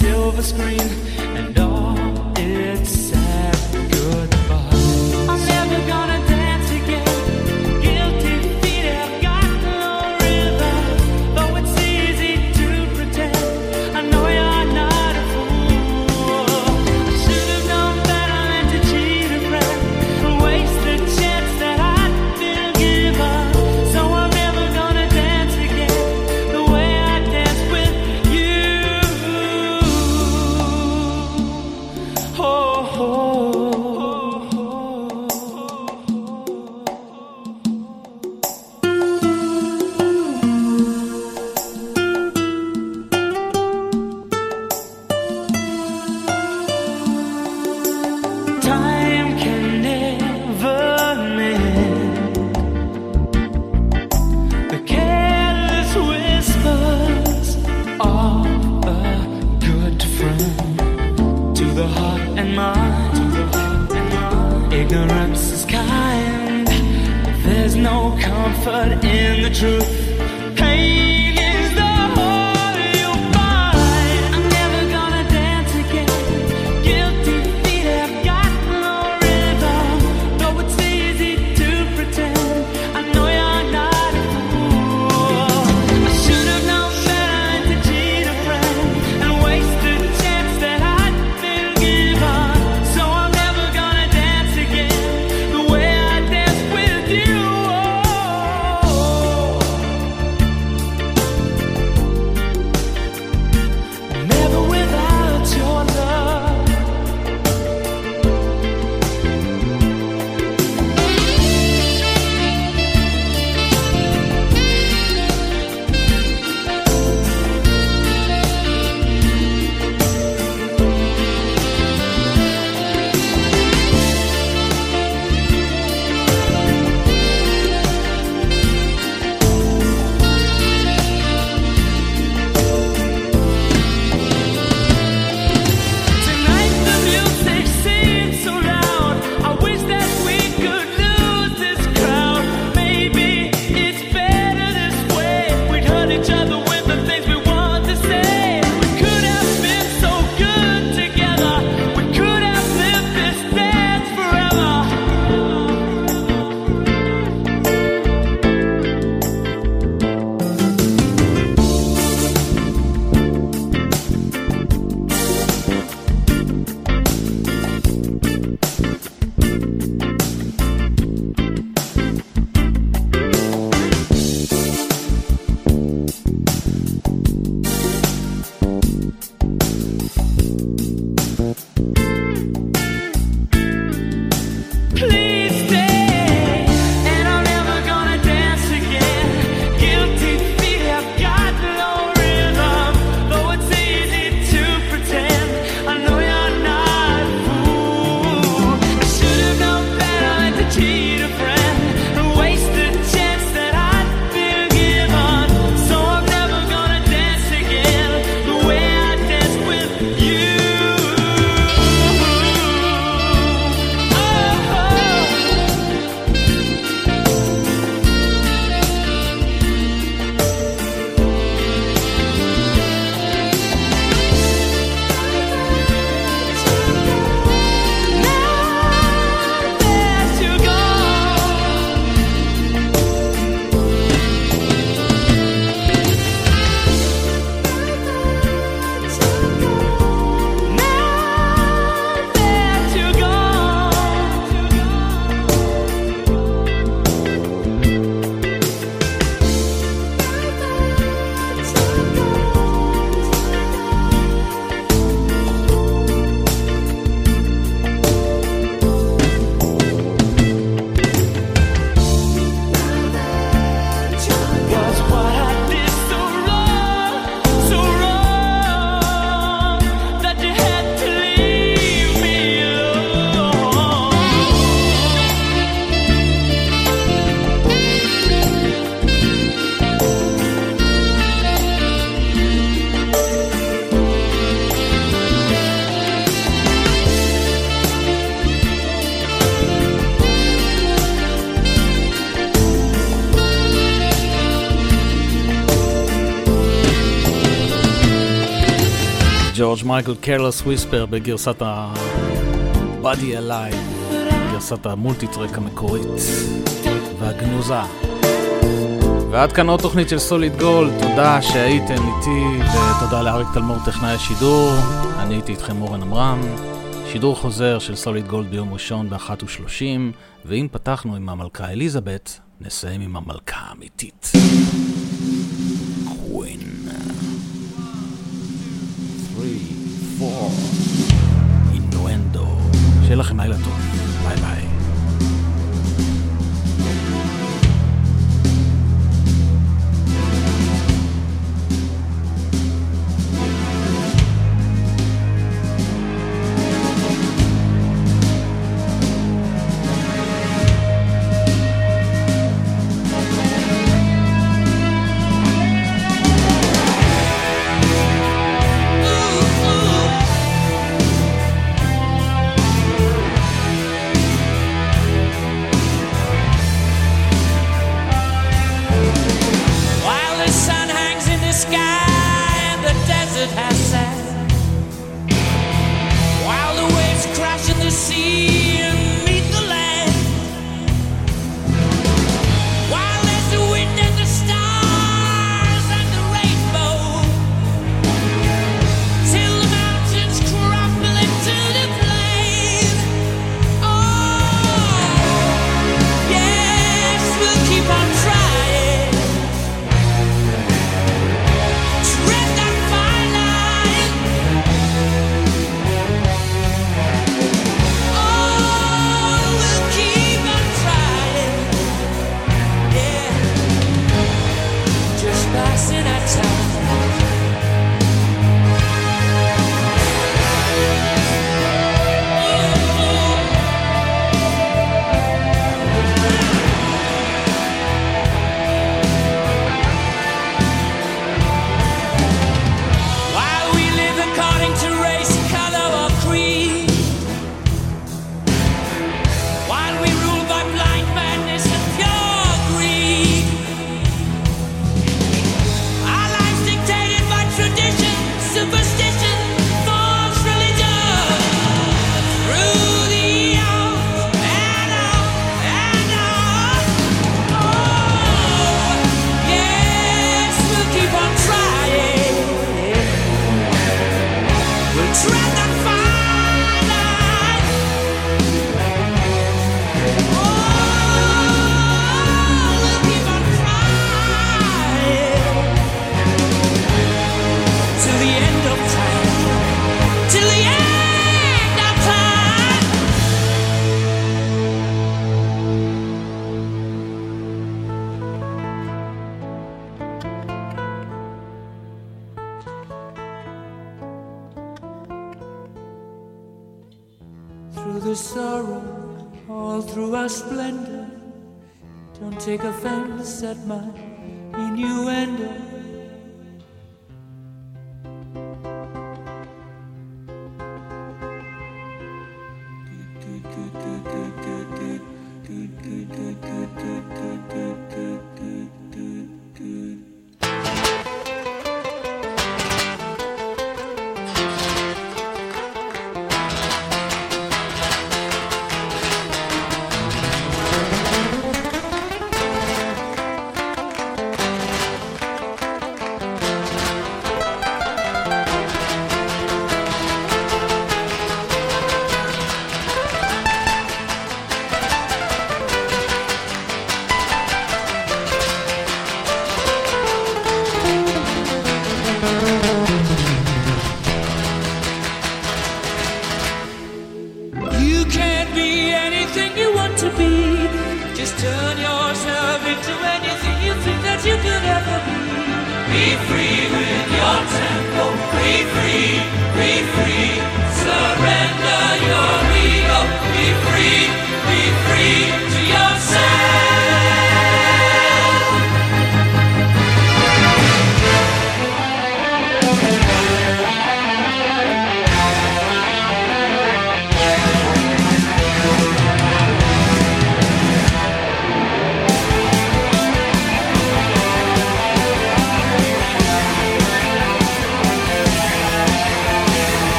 silver screen and all its sad goodbye. I'm never gonna dance again. Guilty feet have got no rhythm. Though it's easy to pretend, I know you're not a fool. I should have known better than to cheat a friend and waste the chance that I'd been given. So I'm never gonna dance again the way I danced with you. Oh, oh, oh. Time can never mend the careless whispers of a good friend to the heart and mind. Ignorance is kind. There's no comfort in the truth. Pain is the whole you'll find. I'm never gonna dance again. Guilty feet have got no rhythm. Though it's easy to pretend, I know you're not a fool. I should have known better than to cheat a friend and waste the chance that I'd been given. So I'm never gonna dance again the way I danced with you. Oh, ג'ורג' מייקל, Careless Whisper בגרסת ה-Body Alive, גרסת המולטי-טרק המקורית והגנוזה. ועד כאן עוד תוכנית של סוליד גולד, תודה שהייתם איתי ותודה לאריק תלמור טכנאי השידור. אני הייתי איתכם אורן אמרם. שידור חוזר של סוליד גולד ביום ראשון ב-אחת ושלושים, ואם פתחנו עם המלכה אליזבת, נסיים עם המלכה האמיתית. קווין. שלוש, ארבע, אינואנדו. שיהיה לכם לילה טוב. ביי ביי. Through the sorrow, all through our splendor, don't take offense at my innuendo.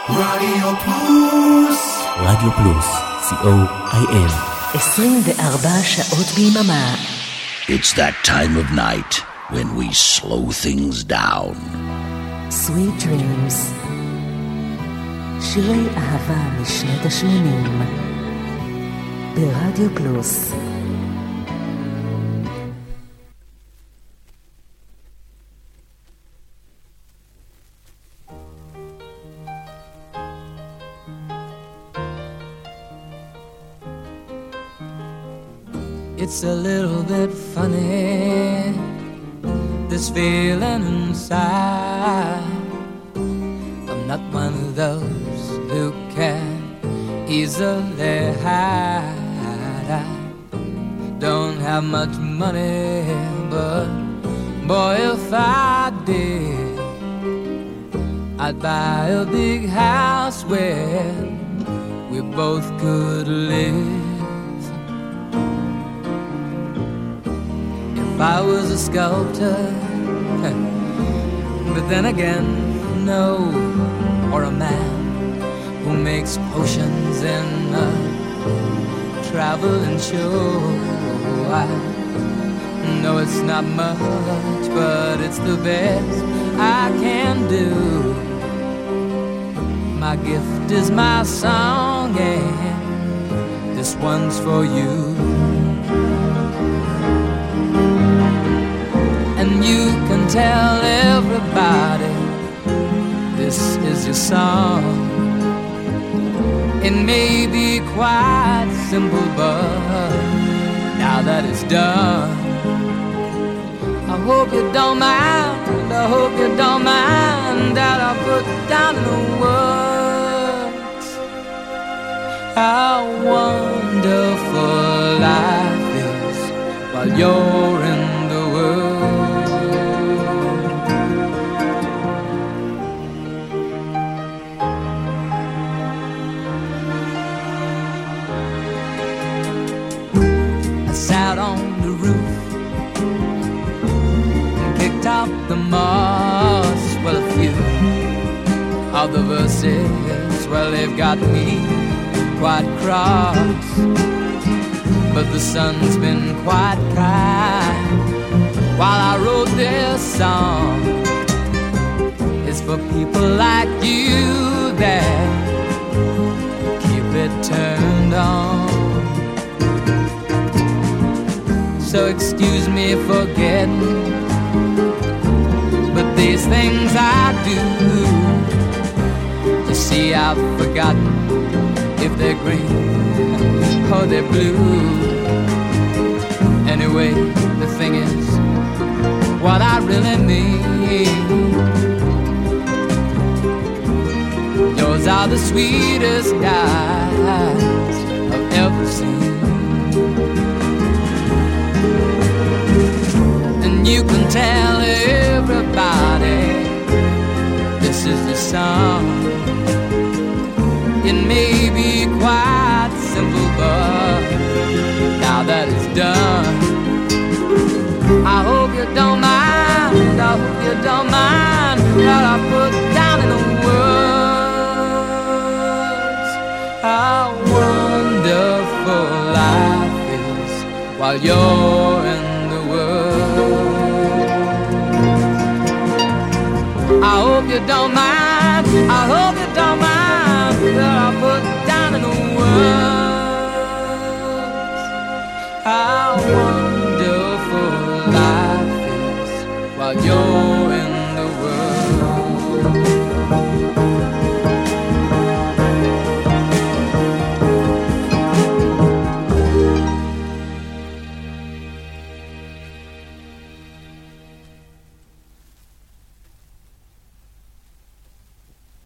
רדיו פלוס. רדיו פלוס, סי או איי אל. עשרים וארבע שעות ביממה. It's that time of night when we slow things down. Sweet Dreams. שירי אהבה משנות ה-שמונים. ברדיו פלוס. It's a little bit funny, this feeling inside. I'm not one of those who can easily hide. I don't have much money, but boy, if I did, I'd buy a big house where we both could live. I was a sculptor, but then again, no, or a man who makes potions in a traveling show. I know it's not much, but it's the best I can do. My gift is my song, and this one's for you. And you can tell everybody this is your song. It may be quite simple, but now that it's done, I hope you don't mind, I hope you don't mind that I put down in the words how wonderful life is while you're in the world. Sat on the roof and kicked out the moss. Well, a few of the verses, well, they've got me quite cross. But the sun's been quite kind while I wrote this song. It's for people like you that keep it turned on. So excuse me for getting, but these things I do, you see I've forgotten if they're green or they're blue. Anyway, the thing is, what I really mean, yours are the sweetest eyes I've ever seen. You can tell everybody this is the song. It may be quite simple, but now that it's done, I hope you don't mind, I hope you don't mind that I put down in the words how wonderful life is while you're in the world. I hope you don't mind, I hope you don't mind that I put down in the words how wonderful life is while you're